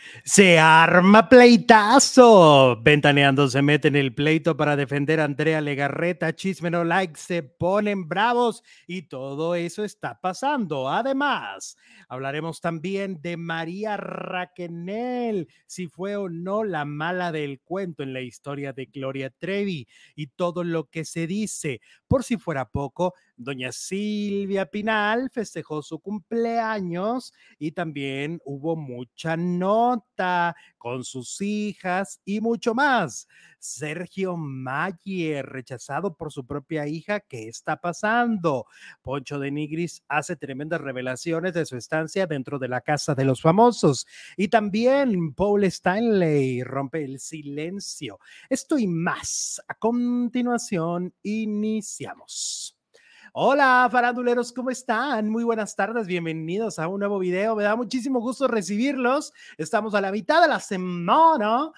Se arma pleitazo. Ventaneando se mete en el pleito para defender a Andrea Legarreta. Chisme no like, se ponen bravos y todo eso está pasando. Además, hablaremos también de María Raquenel, si fue o no la mala del cuento en la historia de Gloria Trevi y todo lo que se dice. Por si fuera poco, doña Silvia Pinal festejó su cumpleaños y también hubo mucha nota con sus hijas y mucho más. Sergio Mayer, rechazado por su propia hija, ¿qué está pasando? Poncho de Nigris hace tremendas revelaciones de su estancia dentro de la casa de los famosos. Y también Paul Stanley rompe el silencio. Esto y más. A continuación, iniciamos. Hola, faranduleros, ¿cómo están? Muy buenas tardes, bienvenidos a un nuevo video. Me da muchísimo gusto recibirlos. Estamos a la mitad de la semana,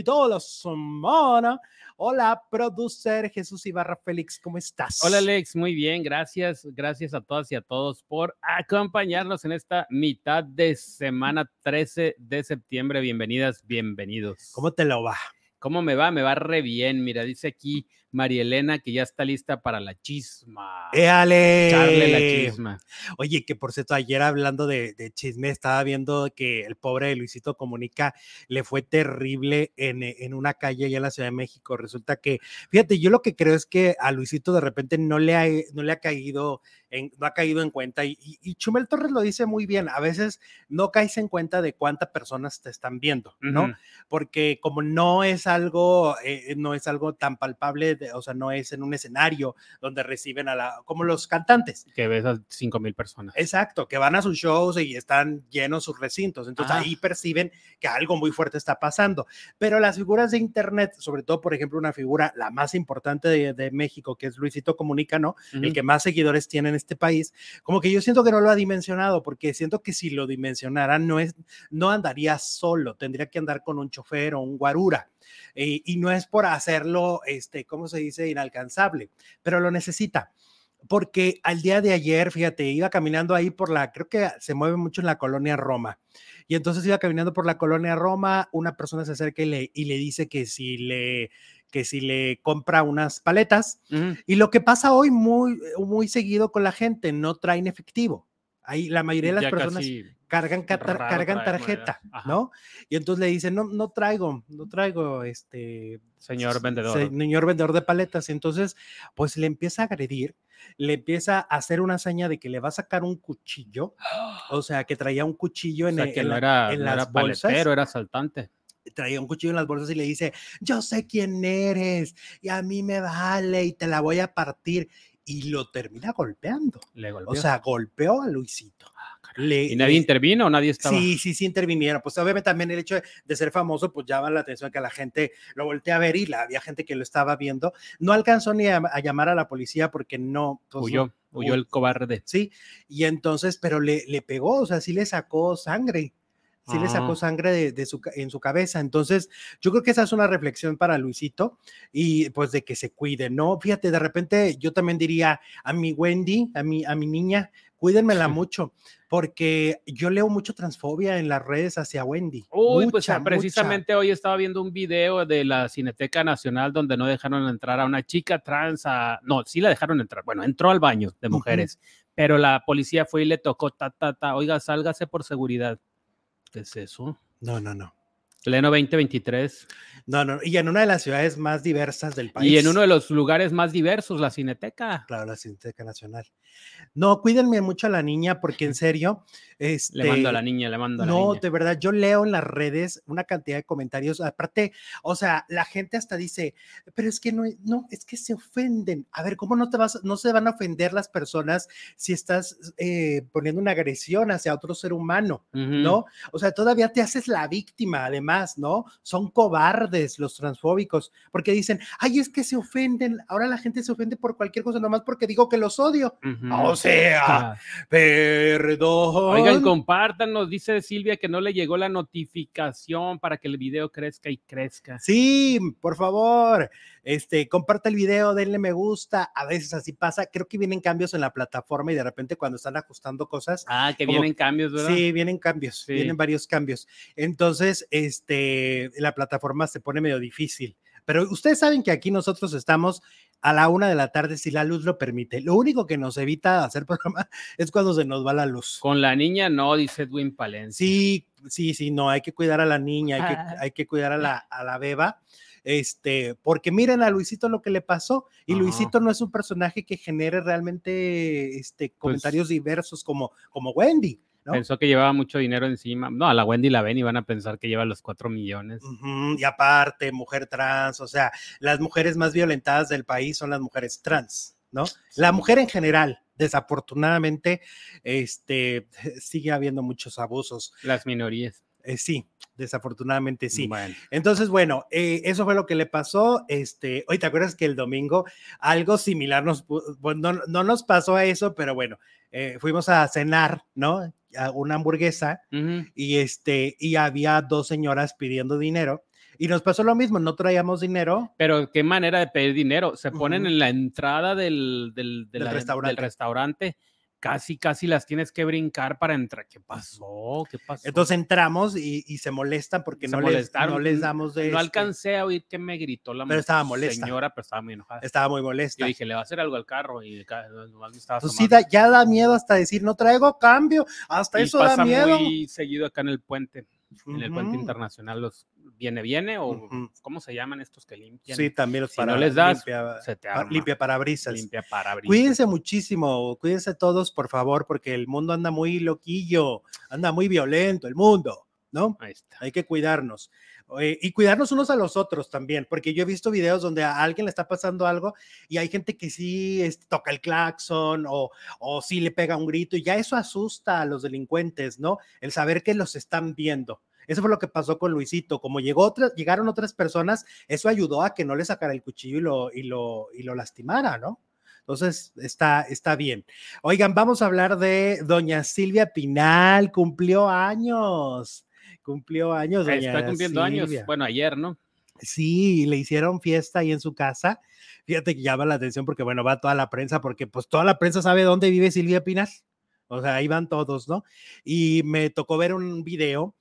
Hola, producer Jesús Ibarra Félix, ¿cómo estás? Hola, Alex, muy bien, gracias. Gracias a todas y a todos por acompañarnos en esta mitad de semana 13 de septiembre. Bienvenidas, bienvenidos. ¿Cómo te lo va? ¿Cómo me va? Me va re bien. Mira, dice aquí María Elena que ya está lista para la chisma. ¡Éale! Echarle la chisma. Oye, que por cierto, ayer hablando de chisme, estaba viendo que el pobre Luisito Comunica le fue terrible en una calle allá en la Ciudad de México. Resulta que, fíjate, yo lo que creo es que a Luisito de repente no le ha caído en cuenta y Chumel Torres lo dice muy bien, a veces no caes en cuenta de cuántas personas te están viendo, ¿no? Porque como no es algo tan palpable, o sea, no es en un escenario donde reciben como los cantantes. Que ves a 5,000 personas. Exacto, que van a sus shows y están llenos sus recintos, entonces ahí perciben que algo muy fuerte está pasando. Pero las figuras de internet, sobre todo, por ejemplo, una figura, la más importante de México, que es Luisito Comunica, ¿no? El que más seguidores tiene en este país, como que yo siento que no lo ha dimensionado, porque siento que si lo dimensionara no andaría solo, tendría que andar con un chofer o un guarura. Y no es por hacerlo, ¿cómo se dice? Inalcanzable, pero lo necesita. Porque al día de ayer, fíjate, iba caminando ahí creo que se mueve mucho en la colonia Roma, y entonces iba caminando por la colonia Roma, una persona se acerca y le dice que si le compra unas paletas, y lo que pasa hoy muy seguido con la gente, no traen efectivo. Ahí la mayoría de las personas cargan tarjeta, ¿no? Y entonces le dicen, no traigo, señor vendedor. Señor vendedor de paletas. Entonces, pues le empieza a agredir, le empieza a hacer una seña de que le va a sacar un cuchillo, o sea, que traía un cuchillo en las bolsas. Paletero, era asaltante. Traía un cuchillo en las bolsas y le dice, yo sé quién eres y a mí me vale y te la voy a partir. Y lo termina golpeando. Le golpeó. O sea, golpeó a Luisito. ¿Y nadie intervino o nadie estaba? Sí intervinieron. Pues obviamente también el hecho de ser famoso, pues llama la atención que la gente lo voltea a ver y había gente que lo estaba viendo. No alcanzó ni a llamar a la policía porque no. Pues, huyó el cobarde. Sí, y entonces, pero le pegó, o sea, sí le sacó sangre. Sí le sacó sangre en su cabeza. Entonces, yo creo que esa es una reflexión para Luisito y pues de que se cuide, ¿no? Fíjate, de repente yo también diría a mi Wendy, a mi niña, cuídenmela mucho, porque yo leo mucho transfobia en las redes hacia Wendy. Precisamente hoy estaba viendo un video de la Cineteca Nacional donde no dejaron entrar a una chica trans, no, sí la dejaron entrar, bueno, entró al baño de mujeres, pero la policía fue y le tocó, oiga, sálgase por seguridad. ¿Qué es eso? No. Pleno 2023. No, y en una de las ciudades más diversas del país. Y en uno de los lugares más diversos, la Cineteca. Claro, la Cineteca Nacional. No, cuídenme mucho a la niña porque en serio, le mando a la niña. No, de verdad, yo leo en las redes una cantidad de comentarios, aparte, o sea, la gente hasta dice, pero es que no, es que se ofenden. A ver, ¿cómo no se van a ofender las personas si estás poniendo una agresión hacia otro ser humano, ¿no? O sea, todavía te haces la víctima, además demás, ¿no? Son cobardes los transfóbicos, porque dicen, ay, es que se ofenden, ahora la gente se ofende por cualquier cosa, nomás porque digo que los odio. O sea, perdón. Oigan, compártanos, dice Silvia que no le llegó la notificación para que el video crezca y crezca. Sí, por favor, comparta el video, denle me gusta, a veces así pasa, creo que vienen cambios en la plataforma y de repente cuando están ajustando cosas. Que vienen cambios, ¿verdad? Sí, vienen cambios, vienen varios cambios. Entonces, la plataforma se pone medio difícil, pero ustedes saben que aquí nosotros estamos a la 1 de la tarde si la luz lo permite. Lo único que nos evita hacer programa es cuando se nos va la luz. Con la niña no, dice Edwin Palencia. Sí, no, hay que cuidar a la niña, hay que cuidar a la beba. Porque miren a Luisito lo que le pasó, y Luisito no es un personaje que genere realmente comentarios diversos como Wendy, ¿no? Pensó que llevaba mucho dinero encima. No, a la Wendy la ven y van a pensar que lleva los 4 millones. Y aparte, mujer trans, o sea, las mujeres más violentadas del país son las mujeres trans, ¿no? Sí. La mujer en general, desafortunadamente, sigue habiendo muchos abusos. Las minorías. Sí, desafortunadamente sí. Bueno. Entonces, bueno, eso fue lo que le pasó. Hoy te acuerdas que el domingo algo similar no nos pasó a eso, pero bueno, fuimos a cenar, ¿no? A una hamburguesa y había 2 señoras pidiendo dinero. Y nos pasó lo mismo, no traíamos dinero. Pero qué manera de pedir dinero. Se ponen en la entrada del restaurante. Casi las tienes que brincar para entrar. ¿Qué pasó? Entonces entramos y se molestan porque no les damos de... No alcancé a oír que me gritó la señora, pero estaba muy enojada. Estaba muy molesta. Yo dije, le va a hacer algo al carro y nomás me estaba pues sí, ya da miedo hasta decir, no traigo cambio, hasta eso da miedo. Pasa muy seguido acá en el puente. En el puente internacional, los viene o ¿cómo se llaman estos que limpian? Sí, también los no les das, se te arma. Limpia parabrisas. Cuídense muchísimo, cuídense todos, por favor, porque el mundo anda muy loquillo, anda muy violento el mundo, ¿no? Ahí está. Hay que cuidarnos. Y cuidarnos unos a los otros también, porque yo he visto videos donde a alguien le está pasando algo y hay gente que sí toca el claxon o sí le pega un grito y ya eso asusta a los delincuentes, ¿no? El saber que los están viendo. Eso fue lo que pasó con Luisito. Como llegaron otras personas, eso ayudó a que no le sacara el cuchillo y lo lastimara, ¿no? Entonces, está bien. Oigan, vamos a hablar de doña Silvia Pinal, cumplió años. Está cumpliendo años, bueno, ayer, ¿no? Sí, le hicieron fiesta ahí en su casa. Fíjate que llama la atención porque, bueno, va toda la prensa, porque pues toda la prensa sabe dónde vive Silvia Pinal. O sea, ahí van todos, ¿no? Y me tocó ver un video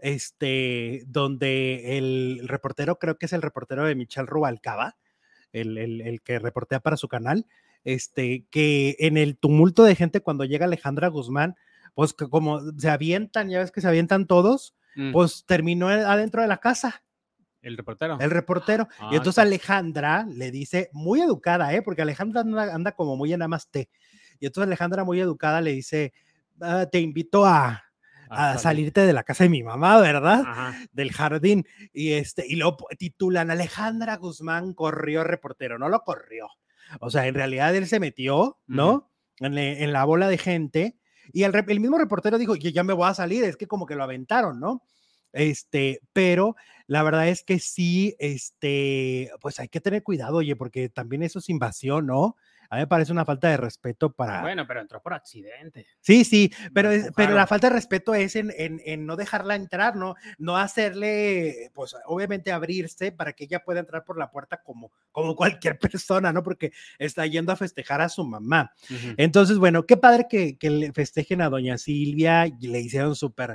donde el reportero, creo que es el reportero de Michelle Rubalcaba, el que reportea para su canal, que en el tumulto de gente cuando llega Alejandra Guzmán, pues como se avientan, ya ves que se avientan todos, pues terminó adentro de la casa. ¿El reportero? El reportero. Y entonces Alejandra le dice, muy educada, porque Alejandra anda como muy en namaste. Y entonces Alejandra muy educada le dice, te invito a salirte de la casa de mi mamá, ¿verdad? Ajá. Del jardín. Y lo titulan, Alejandra Guzmán corrió reportero. No lo corrió. O sea, en realidad él se metió, ¿no? En la bola de gente. Y el mismo reportero dijo, ya me voy a salir, es que como que lo aventaron, ¿no? Pero la verdad es que sí, pues hay que tener cuidado, oye, porque también eso es invasión, ¿no? A mí me parece una falta de respeto para... Bueno, pero entró por accidente. Sí, pero la falta de respeto es en no dejarla entrar, no hacerle, pues obviamente abrirse para que ella pueda entrar por la puerta como cualquier persona, ¿no? Porque está yendo a festejar a su mamá. Entonces, bueno, qué padre que le festejen a doña Silvia, y le hicieron súper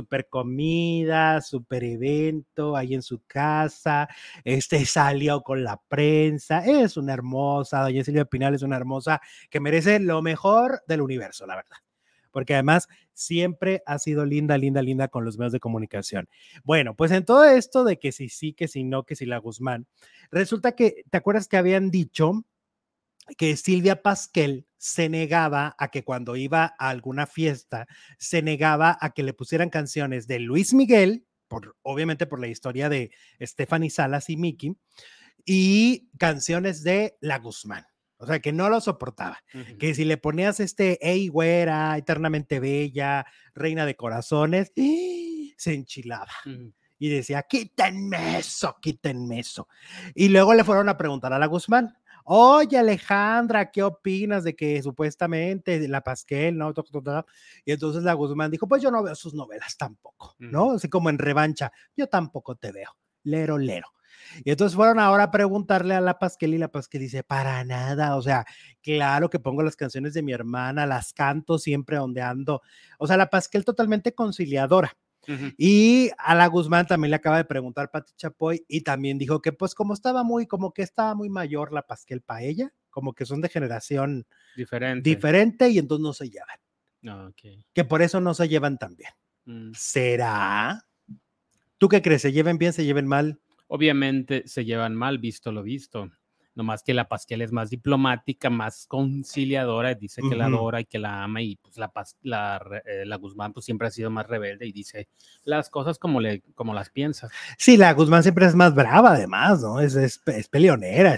comida, súper evento ahí en su casa, salió con la prensa, es una hermosa, doña Silvia Pinal es una hermosa que merece lo mejor del universo, la verdad, porque además siempre ha sido linda con los medios de comunicación. Bueno, pues en todo esto de que si sí, que si no, que si la Guzmán, resulta que, ¿te acuerdas que habían dicho que Silvia Pasquel se negaba a que cuando iba a alguna fiesta, se negaba a que le pusieran canciones de Luis Miguel, obviamente por la historia de Stephanie Salas y Miki, y canciones de la Guzmán? O sea, que no lo soportaba. Que si le ponías Ey, güera, eternamente bella, reina de corazones, se enchilaba. y decía, quítenme eso. Y luego le fueron a preguntar a la Guzmán, oye Alejandra, ¿qué opinas de que supuestamente la Pasquel, no? Y entonces la Guzmán dijo, pues yo no veo sus novelas tampoco, ¿no? Así como en revancha, yo tampoco te veo, lero. Y entonces fueron ahora a preguntarle a la Pasquel y la Pasquel dice, para nada, o sea, claro que pongo las canciones de mi hermana, las canto siempre donde ando, o sea, la Pasquel totalmente conciliadora. Y a la Guzmán también le acaba de preguntar Pati Chapoy y también dijo que pues como que estaba muy mayor la Pasquel para ella, como que son de generación diferente y entonces no se llevan. Okay. Que por eso no se llevan tan bien. ¿Será? ¿Tú qué crees? ¿Se lleven bien, se lleven mal? Obviamente se llevan mal, visto lo visto. Nomás que la Pasquel es más diplomática, más conciliadora, dice que la adora y que la ama, y pues la Guzmán pues siempre ha sido más rebelde y dice las cosas como las piensa. Sí, la Guzmán siempre es más brava además, ¿no? Es peleonera,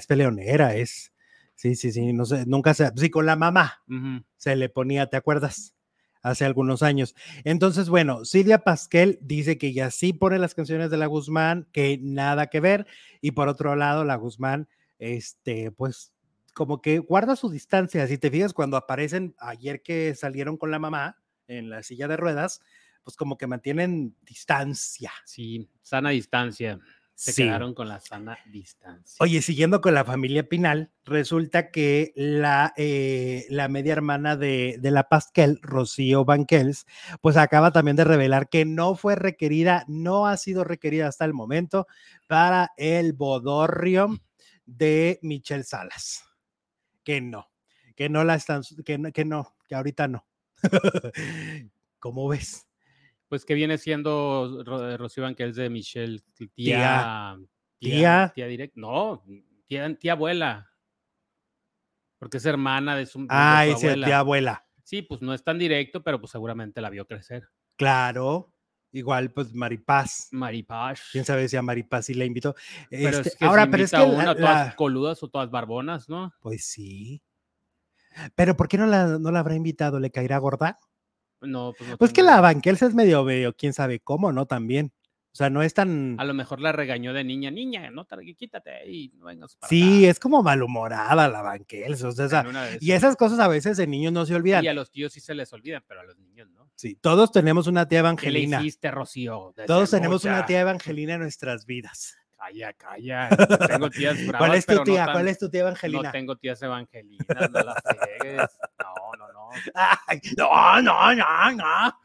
Sí, no sé, nunca se, sí, con la mamá se le ponía, ¿te acuerdas? Hace algunos años. Entonces, bueno, Silvia Pasquel dice que ya sí pone las canciones de la Guzmán, que nada que ver, y por otro lado, la Guzmán, pues, como que guarda su distancia. Si te fijas, cuando aparecen ayer que salieron con la mamá en la silla de ruedas, pues como que mantienen distancia. Sí, sana distancia. Se quedaron con la sana distancia. Oye, siguiendo con la familia Pinal, resulta que la media hermana de la Pasquel, Rocío Banquels, pues acaba también de revelar que no ha sido requerida hasta el momento para el bodorrio de Michelle Salas. Que ahorita no. ¿Cómo ves? Pues que viene siendo Rocío Banquels de Michelle, tía directa, no, tía abuela, porque es hermana de su abuela. Tía abuela. Sí, pues no es tan directo, pero pues seguramente la vio crecer. Claro, igual pues Maripaz. Quién sabe si a Maripaz sí la invitó. Pero es que ahora, pero es que todas coludas o todas barbonas, ¿no? Pues sí. Pero ¿por qué no la habrá invitado? ¿Le caerá gorda? No, pues no. Pues que la Banquels es medio, quién sabe cómo, ¿no? También. O sea, no es tan... A lo mejor la regañó de niña, no, quítate y no vengas para sí, acá. es como malhumorada la Banquels, o sea, y esas cosas a veces de niños no se olvidan. Y a los tíos sí se les olvidan, pero a los niños no. Sí, todos tenemos una tía Evangelina. ¿Qué le hiciste, Rocío? Todos tenemos una tía Evangelina en nuestras vidas. Calla. Tengo tías bravas. ¿Cuál es tu tía? ¿Cuál es tu tía Evangelina? No tengo tías evangelinas, no las pegues. No. Ay, no.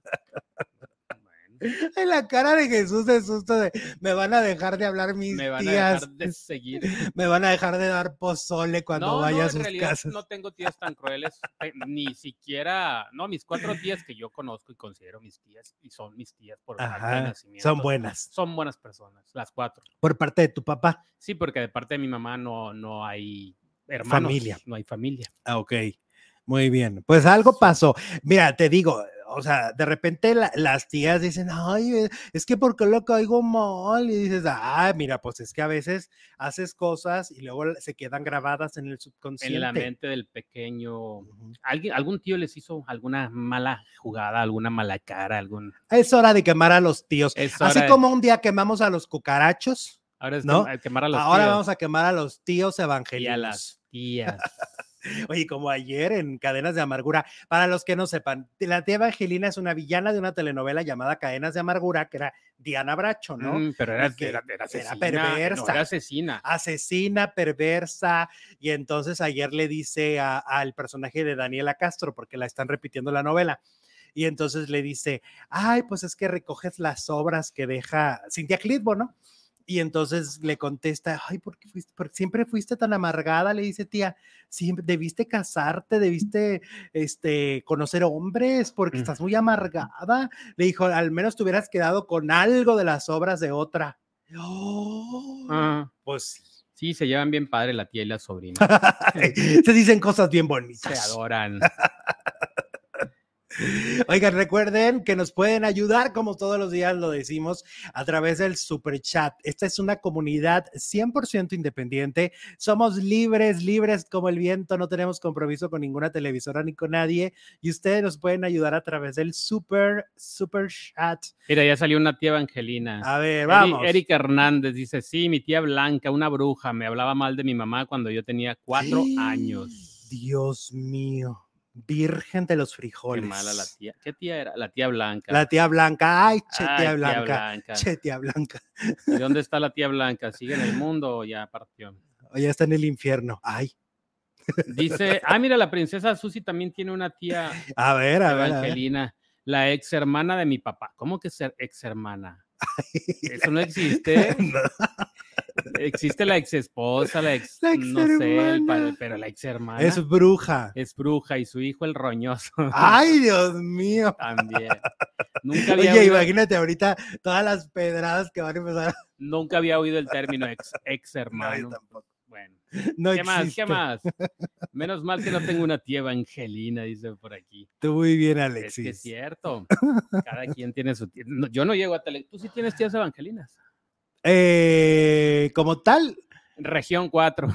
En la cara de Jesús de susto de me van a dejar de hablar mis tías. Me van a dejar de seguir. Me van a dejar de dar pozole cuando vaya a sus casas. No tengo tías tan crueles, ni siquiera, mis 4 tías que yo conozco y considero mis tías, y son mis tías por parte de nacimiento. Son buenas. Son buenas personas, las 4. ¿Por parte de tu papá? Sí, porque de parte de mi mamá no hay hermanos. Familia. No hay familia. Ok. Muy bien, pues algo pasó. Mira, te digo, o sea, de repente las tías dicen, ay, es que ¿por qué lo caigo mal? Y dices, mira, pues es que a veces haces cosas y luego se quedan grabadas en el subconsciente. En la mente del pequeño. ¿Algún tío les hizo alguna mala jugada, alguna mala cara? Es hora de quemar a los tíos. Así como un día quemamos a los cucarachos. Ahora es ¿no? Quemar a los Ahora tíos. Vamos a quemar a los tíos evangelinos. Y a las tías. Oye, como ayer en Cadenas de Amargura, para los que no sepan, la tía Evangelina es una villana de una telenovela llamada Cadenas de Amargura, que era Diana Bracho, ¿no? Pero era perversa. No, era asesina. Asesina, perversa, y entonces ayer le dice al personaje de Daniela Castro, porque la están repitiendo la novela, y entonces le dice, ay, pues es que recoges las obras que deja Cintia Clitbo, ¿no? Y entonces le contesta, ay, ¿por qué siempre fuiste tan amargada? Le dice, tía, siempre debiste casarte, debiste conocer hombres, porque estás muy amargada. Le dijo, al menos te hubieras quedado con algo de las obras de otra. Pues sí. Sí, se llevan bien padre la tía y la sobrina. Se dicen cosas bien bonitas. Se adoran. Oigan, recuerden que nos pueden ayudar, como todos los días lo decimos, a través del Super Chat. Esta es una comunidad 100% independiente. Somos libres como el viento. No tenemos compromiso con ninguna televisora ni con nadie. Y ustedes nos pueden ayudar a través del Super Chat. Mira, ya salió una tía Evangelina. A ver, vamos. Erika Hernández dice, sí, mi tía Blanca, una bruja, me hablaba mal de mi mamá cuando yo tenía 4 años. Dios mío. Virgen de los frijoles. Qué mala la tía. ¿Qué tía era? La tía Blanca. La tía Blanca. Ay, tía Blanca. Blanca. Che, tía Blanca. ¿Y dónde está la tía Blanca? ¿Sigue en el mundo o ya partió? O ya está en el infierno. Ay. Dice, mira, la princesa Susi también tiene una tía Evangelina, la ex hermana de mi papá. ¿Cómo que ser ex hermana? Eso no existe. No. Existe la ex esposa, la ex no sé, pero la ex hermana es bruja. Es bruja y su hijo el roñoso. Ay, Dios mío. También. Nunca había oído, imagínate ahorita todas las pedradas que van a empezar. Nunca había oído el término ex hermano. No, yo tampoco. Bueno. No ¿Qué existe. más? Menos mal que no tengo una tía Evangelina, dice por aquí. Tú muy bien, Alexis. Es que es cierto. Cada quien tiene su tía. No, yo no llego a tele. ¿Tú sí tienes tías evangelinas? Como tal. Región 4.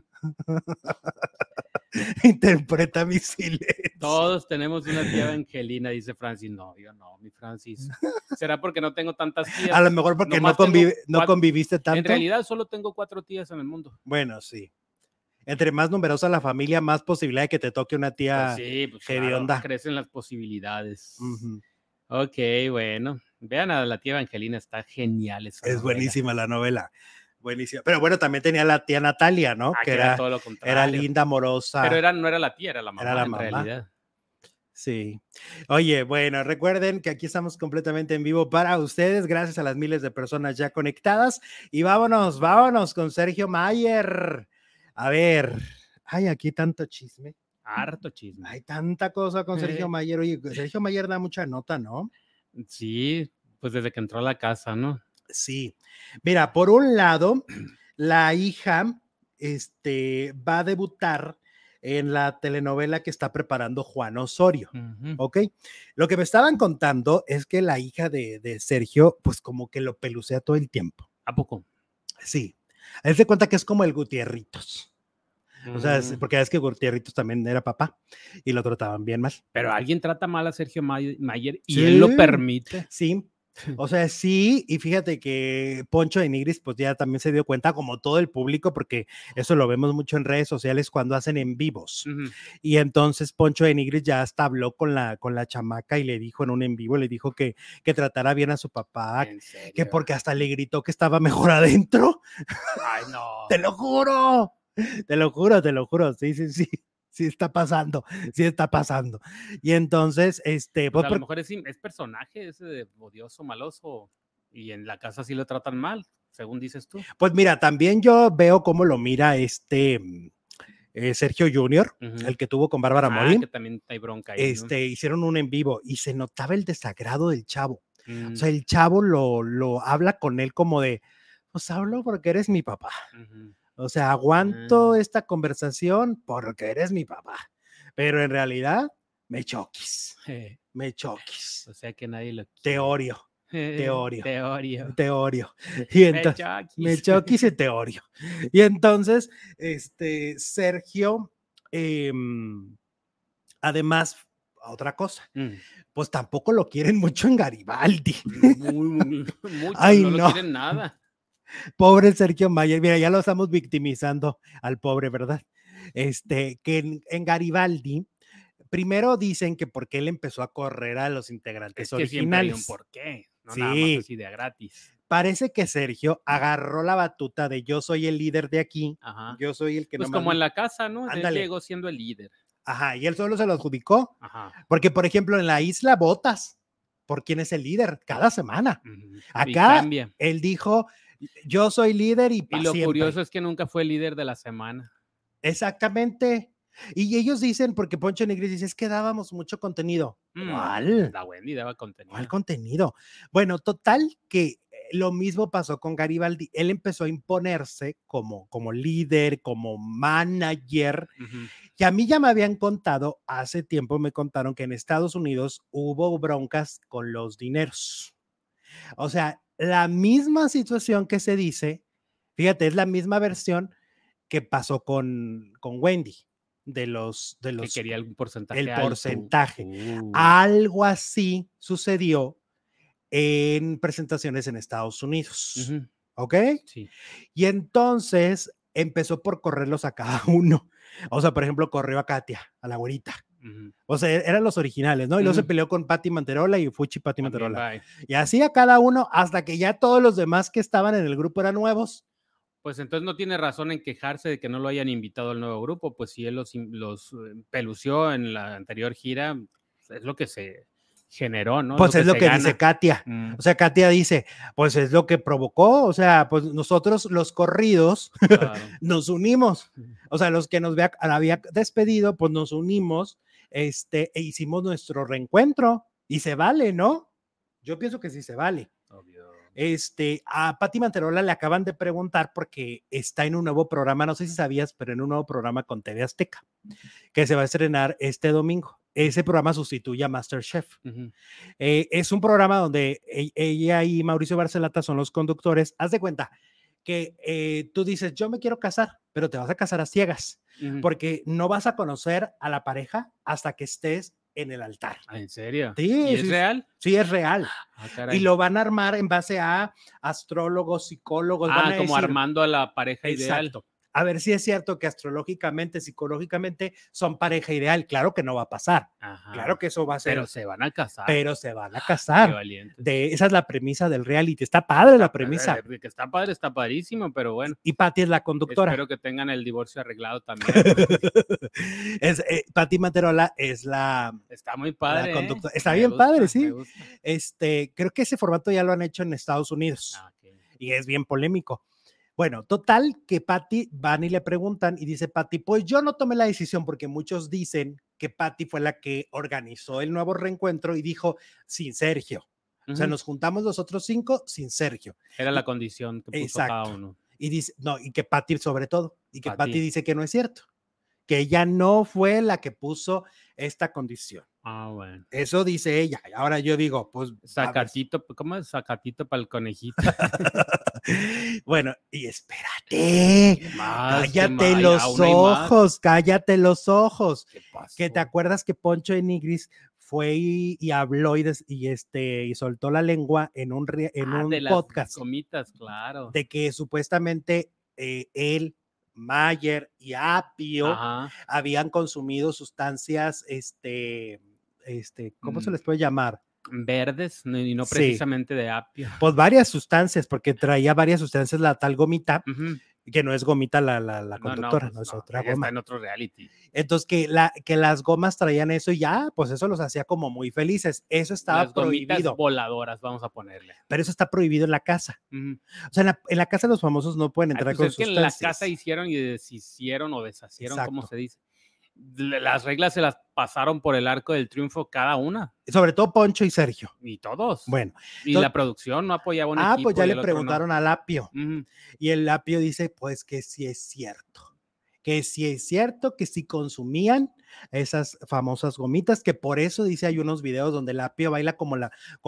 Interpreta mi silencio. Todos tenemos una tía Evangelina, dice Francis. No, yo no, mi Francis. ¿Será porque no tengo tantas tías? A lo mejor porque no conviviste tanto. En realidad solo tengo 4 tías en el mundo. Bueno, sí. Entre más numerosa la familia, más posibilidad de que te toque una tía hedionda. Claro, crecen las posibilidades. Ok, bueno. Vean a la tía Evangelina, está genial esa novela. Buenísima la novela. Buenísima. Pero bueno, también tenía la tía Natalia, ¿no? Que era todo lo contrario. Era linda, amorosa. Pero no era la tía, era la mamá en realidad. Sí. Oye, bueno, recuerden que aquí estamos completamente en vivo para ustedes, gracias a las miles de personas ya conectadas. Y vámonos con Sergio Mayer. A ver, hay aquí tanto chisme. Harto chisme. Hay tanta cosa con Sergio Mayer. Oye, Sergio Mayer da mucha nota, ¿no? Sí, pues desde que entró a la casa, ¿no? Sí. Mira, por un lado, la hija va a debutar en la telenovela que está preparando Juan Osorio, ¿ok? Lo que me estaban contando es que la hija de Sergio, pues como que lo pelucea todo el tiempo. ¿A poco? Sí. Él se cuenta que es como el Gutierritos. O sea, porque es que Gutierritos también era papá y lo trataban bien mal. Pero alguien trata mal a Sergio Mayer y él lo permite. Sí. O sea, sí, y fíjate que Poncho de Nigris pues ya también se dio cuenta, como todo el público, porque eso lo vemos mucho en redes sociales cuando hacen en vivos. Y entonces Poncho de Nigris ya hasta habló con la chamaca y le dijo en un en vivo, le dijo que tratara bien a su papá, que porque hasta le gritó que estaba mejor adentro. Ay, no. Te lo juro, sí. Sí está pasando. Y entonces, pues a lo mejor es personaje ese de odioso, maloso, y en la casa sí lo tratan mal, según dices tú. Pues mira, también yo veo cómo lo mira Sergio Jr., el que tuvo con Bárbara Mori. Que también hay bronca ahí, ¿no? Hicieron un en vivo y se notaba el desagrado del chavo. O sea, el chavo lo habla con él como de, pues hablo porque eres mi papá. O sea, aguanto esta conversación porque eres mi papá. Pero en realidad, me choquis. O sea que nadie lo quiere. Te odio. Y entonces, me choquis y te odio. Y entonces, Sergio, además, otra cosa, pues tampoco lo quieren mucho en Garibaldi. Mucho, Ay, no lo quieren nada. Pobre Sergio Mayer, mira, ya lo estamos victimizando al pobre, ¿verdad? Que en Garibaldi, primero dicen que porque él empezó a correr a los integrantes originales. Siempre hay un porqué, no nada más así de gratis. Parece que Sergio agarró la batuta de yo soy el líder de aquí, yo soy el que pues como en la casa, ¿no? Él llegó siendo el líder. Y él solo se lo adjudicó. Porque, por ejemplo, en la isla votas por quién es el líder cada semana. Acá, él dijo, yo soy líder y lo curioso es que nunca fue el líder de la semana. Exactamente. Y ellos dicen, porque Poncho Nigris dice, es que dábamos mucho contenido. ¿Cuál? La Wendy daba contenido. ¿Cuál contenido? Bueno, total que lo mismo pasó con Garibaldi. Él empezó a imponerse como líder, como manager. Y a mí ya me habían contado, hace tiempo me contaron que en Estados Unidos hubo broncas con los dineros. O sea, la misma situación que se dice, fíjate, es la misma versión que pasó con Wendy, de los que quería algún porcentaje. el porcentaje. Algo así sucedió en presentaciones en Estados Unidos. ¿Ok? Sí. Y entonces empezó por correrlos a cada uno. O sea, por ejemplo, corrió a Katia, a la güerita. O sea, eran los originales, ¿no? Y luego se peleó con Pati Manterola y Fuchi Pati Manterola. Bye. Y así a cada uno, hasta que ya todos los demás que estaban en el grupo eran nuevos. Pues entonces no tiene razón en quejarse de que no lo hayan invitado al nuevo grupo, pues si él los pelució en la anterior gira, es lo que se generó, ¿no? Pues es lo que dice Katia. O sea, Katia dice, pues es lo que provocó, o sea, pues nosotros los corridos claro. Nos unimos, o sea, los que nos había despedido, pues nos unimos, e hicimos nuestro reencuentro y se vale, ¿no? Yo pienso que sí se vale. Obvio. A Pati Manterola le acaban de preguntar porque está en un nuevo programa, no sé si sabías, pero en un nuevo programa con TV Azteca, que se va a estrenar este domingo. Ese programa sustituye a MasterChef. Es un programa donde ella y Mauricio Barcelata son los conductores. Haz de cuenta que tú dices, yo me quiero casar, pero te vas a casar a ciegas, porque no vas a conocer a la pareja hasta que estés en el altar. ¿En serio? Sí, ¿Y es real? Sí, es real. Y lo van a armar en base a astrólogos, psicólogos. Van a como decir, armando a la pareja ideal. Exacto. A ver si es cierto que astrológicamente, psicológicamente son pareja ideal. Claro que no va a pasar. Ajá. Claro que eso va a ser. Pero se van a casar. Pero se van a casar. Qué valiente. Esa es la premisa del reality. Está padre la premisa. Que está padre, está padrísimo, pero bueno. Y Pati es la conductora. Espero que tengan el divorcio arreglado también. Pati Manterola es la. Está muy padre. La conductora. Está bien padre, sí. Creo que ese formato ya lo han hecho en Estados Unidos. Okay. Y es bien polémico. Bueno, total que Pati van y le preguntan y dice Pati, pues yo no tomé la decisión porque muchos dicen que Pati fue la que organizó el nuevo reencuentro y dijo sin Sergio. O sea, nos juntamos los otros 5 sin Sergio. Era la condición que puso cada uno. Y dice, no, y que Pati sobre todo, y que Pati dice que no es cierto, que ella no fue la que puso esta condición. Bueno. Eso dice ella. Ahora yo digo, pues. Sacatito, ¿cómo es? Sacatito para el conejito. Bueno, y espérate. Cállate los ojos, cállate los ojos. ¿Qué pasó? Que te acuerdas que Poncho de Nigris fue y habló y soltó la lengua en un de podcast. Las gomitas, claro. De que supuestamente él, Mayer y Apio habían consumido sustancias, ¿cómo se les puede llamar? Verdes y no precisamente de apio. Pues varias sustancias, porque traía varias sustancias la tal gomita, que no es gomita la conductora, no es otra goma. Está en otro reality. Entonces que las gomas traían eso y ya, pues eso los hacía como muy felices. Eso estaba las prohibido. Gomitas voladoras, vamos a ponerle. Pero eso está prohibido en la casa. O sea, en la casa de los famosos no pueden entrar con sustancias. Es que en la casa hicieron y deshicieron o deshacieron, ¿cómo se dice? Las reglas se las pasaron por el arco del triunfo cada una. Sobre todo Poncho y Sergio. Y todos. Bueno. Y la producción no apoyaba un equipo. Pues ya le preguntaron al Apio. Y el Apio dice, pues que sí es cierto. Que sí es cierto que sí consumían esas famosas gomitas, que por eso dice hay unos videos donde el Apio baila ¿cómo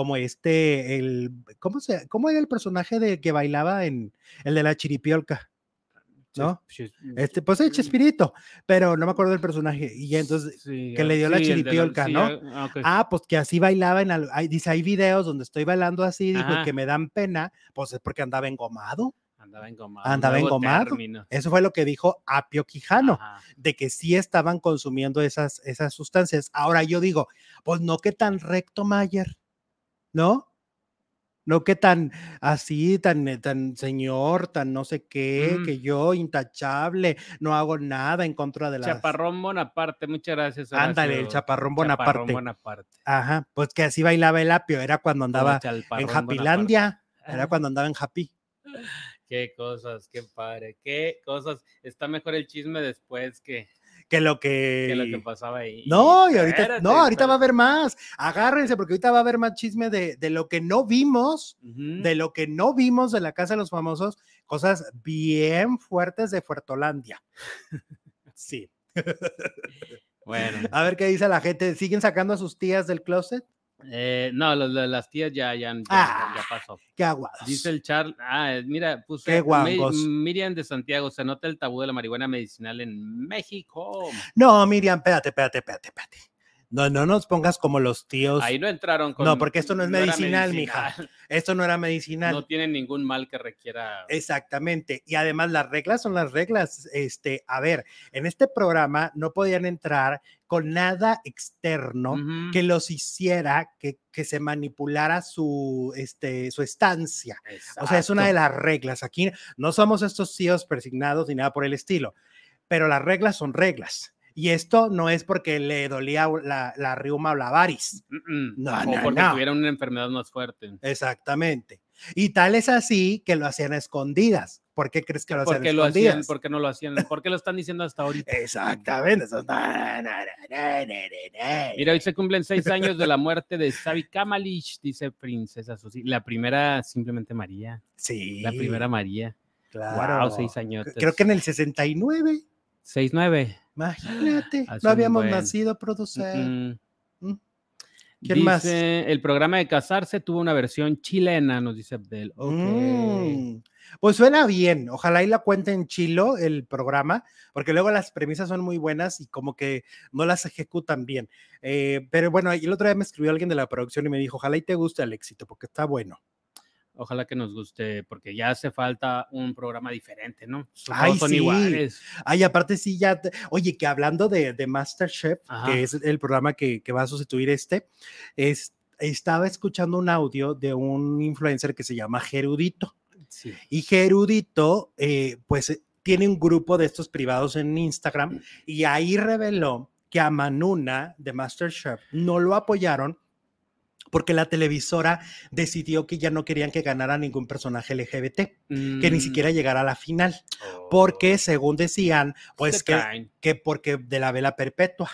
era el personaje de que bailaba en el de la chiripiolca? ¿No? Pues el Chespirito, pero no me acuerdo del personaje, y entonces que le dio la chiripiolca, ¿no? Okay. Pues que así bailaba dice, hay videos donde estoy bailando así, dijo, y que me dan pena, pues es porque andaba engomado. Andaba engomado. Eso fue lo que dijo Apio Quijano, de que sí estaban consumiendo esas sustancias. Ahora yo digo, pues no que tan recto, Mayer, ¿no? No que tan así, tan señor, tan no sé qué, que yo intachable, no hago nada en contra de la. Chaparrón Bonaparte, muchas gracias. Ándale, el Chaparrón Bonaparte. Ajá, pues que así bailaba el Apio, era cuando andaba en Happylandia, era cuando andaba en Happy. Qué cosas, qué padre, qué cosas. Está mejor el chisme después que que lo que pasaba ahí. No, y ahorita va a haber más. Agárrense, porque ahorita va a haber más chisme de lo que no vimos, de lo que no vimos de la Casa de los Famosos, cosas bien fuertes de Fuertolandia. Sí. Bueno. A ver qué dice la gente. ¿Siguen sacando a sus tías del closet? No, las tías ya pasó. Qué aguados. Dice el Charles, mira, puse qué guangos. Miriam de Santiago, se nota el tabú de la marihuana medicinal en México. No, Miriam, espérate. No nos pongas como los tíos. Ahí no entraron con... No, porque esto no es medicinal, mija. Esto no era medicinal. No tienen ningún mal que requiera... Exactamente. Y además las reglas son las reglas. A ver, en este programa no podían entrar con nada externo que los hiciera que se manipulara su estancia. Exacto. O sea, es una de las reglas. Aquí no somos estos tíos persignados ni nada por el estilo, pero las reglas son reglas. Y esto no es porque le dolía la riuma o la varis. No, o porque tuviera una enfermedad más fuerte. Exactamente. Y tal es así que lo hacían a escondidas. ¿Por qué crees que lo hacían a escondidas? ¿Por qué no lo hacían? ¿Por qué lo están diciendo hasta ahorita? Exactamente. Mira, hoy se cumplen 6 años de la muerte de Xavi Kamalich, dice Princesa Susi. La primera, simplemente María. Sí. La primera María. Claro. Wow, 6 años. Creo que en el 69. 6-9. Imagínate, no habíamos nacido, productor. ¿Quién más? El programa de casarse tuvo una versión chilena, nos dice Abdel. Okay. Pues suena bien, ojalá y la cuenten chilo el programa, porque luego las premisas son muy buenas y como que no las ejecutan bien. Pero bueno, el otro día me escribió alguien de la producción y me dijo, ojalá y te guste el éxito, porque está bueno. Ojalá que nos guste, porque ya hace falta un programa diferente, ¿no? Todos son iguales. Ay, aparte sí, ya. Oye, que hablando de MasterChef, que es el programa que va a sustituir estaba escuchando un audio de un influencer que se llama Gerudito. Sí. Y Gerudito, pues, tiene un grupo de estos privados en Instagram y ahí reveló que a Manuna de MasterChef no lo apoyaron porque la televisora decidió que ya no querían que ganara ningún personaje LGBT, que ni siquiera llegara a la final, porque según decían, pues que porque de la vela perpetua.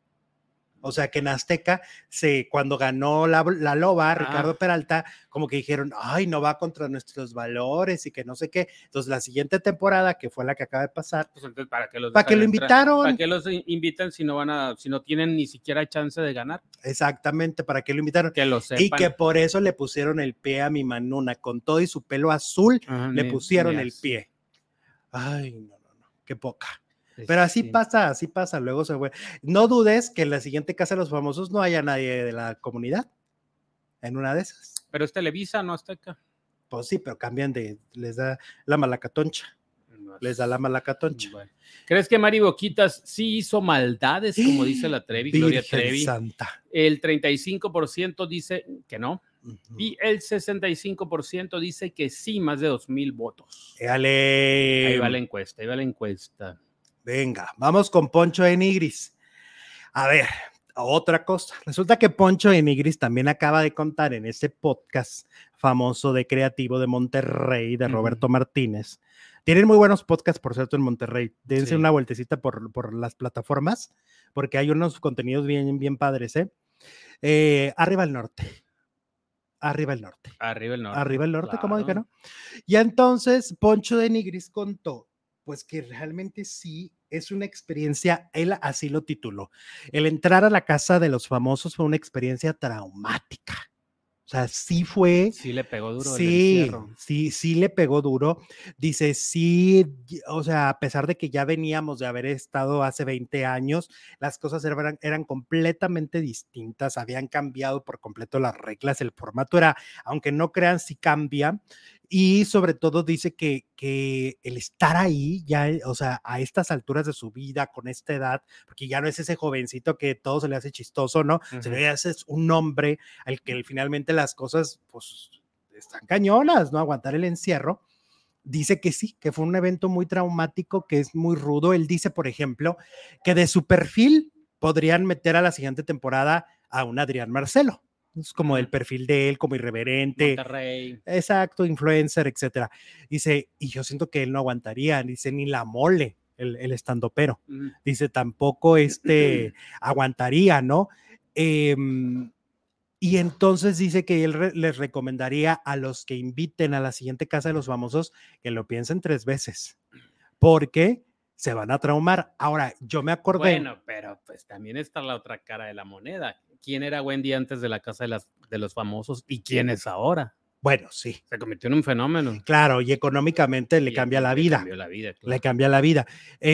O sea, que en Azteca, cuando ganó la Loba, Ricardo Peralta, como que dijeron, ay, no va contra nuestros valores y que no sé qué. Entonces, la siguiente temporada, que fue la que acaba de pasar, pues entonces, ¿para qué lo invitaron? ¿Para qué los invitan si no tienen ni siquiera chance de ganar? Exactamente, ¿para qué lo invitaron? Que lo sepan. Y que por eso le pusieron el pie a mi Manuna, con todo y su pelo azul, le pusieron el pie. Ay, no, qué poca. Pero así pasa, luego se fue. No dudes que en la siguiente Casa de los Famosos no haya nadie de la comunidad, en una de esas. Pero es Televisa, no Azteca. Pues sí, pero cambian les da la malacatoncha. Les da la malacatoncha. Bueno. ¿Crees que Mari Boquitas sí hizo maldades, como dice la Trevi, Gloria Trevi? Santa. El 35% dice que no. Y el 65% dice que sí, más de 2,000 votos. ¡Éale! Ahí va la encuesta. Venga, vamos con Poncho de Nigris. A ver, otra cosa. Resulta que Poncho de Nigris también acaba de contar en ese podcast famoso de Creativo de Monterrey, de Roberto Martínez. Tienen muy buenos podcasts, por cierto, en Monterrey. Dense una vueltecita por las plataformas, porque hay unos contenidos bien, bien padres, Arriba el norte. Arriba el norte. Claro. ¿Cómo dije, no? Y entonces Poncho de Nigris contó pues que realmente sí es una experiencia, él así lo tituló, el entrar a la Casa de los Famosos fue una experiencia traumática. O sea, sí fue. Sí le pegó duro. Sí le pegó duro. Dice, sí, o sea, a pesar de que ya veníamos de haber estado hace 20 años, las cosas eran completamente distintas, habían cambiado por completo las reglas, el formato era, aunque no crean, sí cambia. Y sobre todo dice que el estar ahí ya, o sea, a estas alturas de su vida, con esta edad, porque ya no es ese jovencito que todo se le hace chistoso, ¿no? Se le hace un hombre al que finalmente las cosas, pues, están cañonas, ¿no? Aguantar el encierro. Dice que sí, que fue un evento muy traumático, que es muy rudo. Él dice, por ejemplo, que de su perfil podrían meter a la siguiente temporada a un Adrián Marcelo. Es como el perfil de él, como irreverente. Monterrey. Exacto, influencer, etcétera. Dice, y yo siento que él no aguantaría, dice, ni la mole. el estandopero. Dice, tampoco aguantaría, ¿no? Y entonces dice que él les recomendaría a los que inviten a la siguiente casa de los famosos que lo piensen 3 veces, porque se van a traumar. Ahora, yo me acordé. Bueno, pero pues también está la otra cara de la moneda. ¿Quién era Wendy antes de la casa de los famosos y quién es ahora? Bueno, sí. Se convirtió en un fenómeno. Claro, y económicamente le cambia la vida. Claro. Le cambia la vida.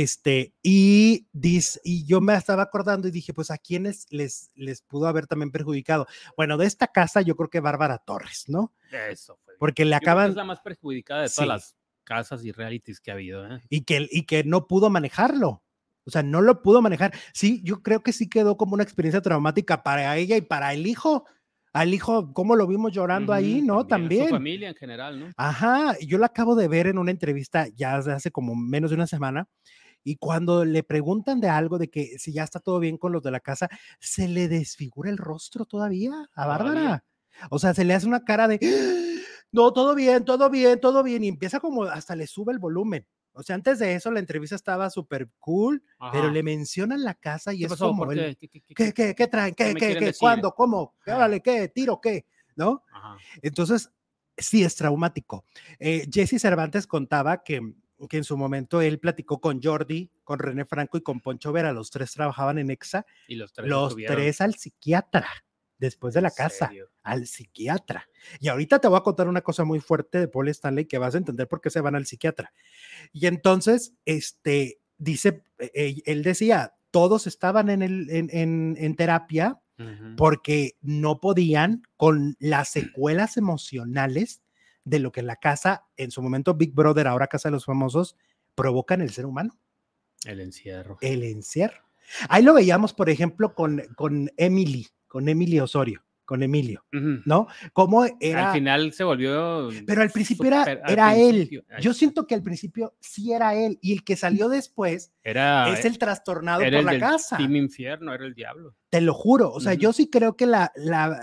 Y yo me estaba acordando y dije, pues a quiénes les pudo haber también perjudicado. Bueno, de esta casa yo creo que Bárbara Torres, ¿no? Eso fue. Porque le acaban. Es la más perjudicada de todas las casas y realities que ha habido. Y que no pudo manejarlo. O sea, no lo pudo manejar. Sí, yo creo que sí quedó como una experiencia traumática para ella y para el hijo. Al hijo, ¿cómo lo vimos llorando ahí, no? También. Su familia en general, ¿no? Ajá, yo la acabo de ver en una entrevista ya hace como menos de una semana, y cuando le preguntan de algo, de que si ya está todo bien con los de la casa, se le desfigura el rostro todavía a Bárbara. O sea, se le hace una cara de, no, todo bien, todo bien, todo bien, y empieza como, hasta le sube el volumen. O sea, antes de eso la entrevista estaba súper cool, pero le mencionan la casa y es pasó? como, ¿Qué traen? ¿Qué? ¿Cuándo? ¿Cómo? Órale, ¿qué? ¿Tiro? ¿Qué? ¿No? Ajá. Entonces, sí es traumático. Jesse Cervantes contaba que en su momento él platicó con Jordi, con René Franco y con Poncho Vera, los 3 trabajaban en EXA, y los 3 al psiquiatra, después de la casa, al psiquiatra. Y ahorita te voy a contar una cosa muy fuerte de Paul Stanley que vas a entender por qué se van al psiquiatra. Y entonces, dice, él decía, todos estaban en terapia porque no podían con las secuelas emocionales de lo que la casa, en su momento Big Brother, ahora Casa de los Famosos, provoca en el ser humano. El encierro. Ahí lo veíamos, por ejemplo, con Emily Osorio, con Emilio, ¿no? Cómo era. Al final se volvió. Pero al principio era él. Yo siento que al principio sí era él, y el que salió después es el trastornado por la casa. Team Infierno, era el diablo. Te lo juro. O sea, yo sí creo que la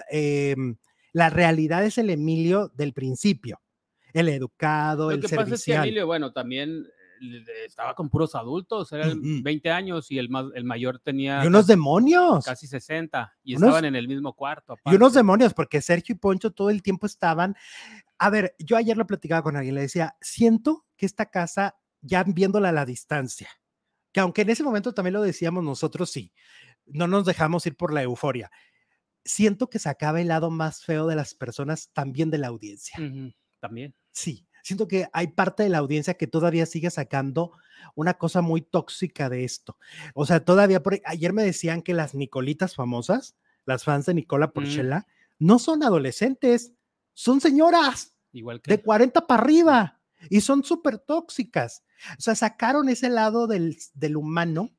realidad es el Emilio del principio. El educado, el servicial. Lo que pasa es que Emilio, bueno, también estaba con puros adultos, eran 20 años y el mayor tenía. Y unos demonios. Casi 60 y estaban en el mismo cuarto. Aparte. Y unos demonios, porque Sergio y Poncho todo el tiempo estaban. A ver, yo ayer lo platicaba con alguien, le decía, siento que esta casa, ya viéndola a la distancia, que aunque en ese momento también lo decíamos nosotros, sí, no nos dejamos ir por la euforia. Siento que sacaba el lado más feo de las personas, también de la audiencia. También. Sí. Siento que hay parte de la audiencia que todavía sigue sacando una cosa muy tóxica de esto. O sea, todavía, ayer me decían que las Nicolitas famosas, las fans de Nicola Porchela, no son adolescentes, son señoras. Igual que de 40 para arriba, y son súper tóxicas. O sea, sacaron ese lado del humano,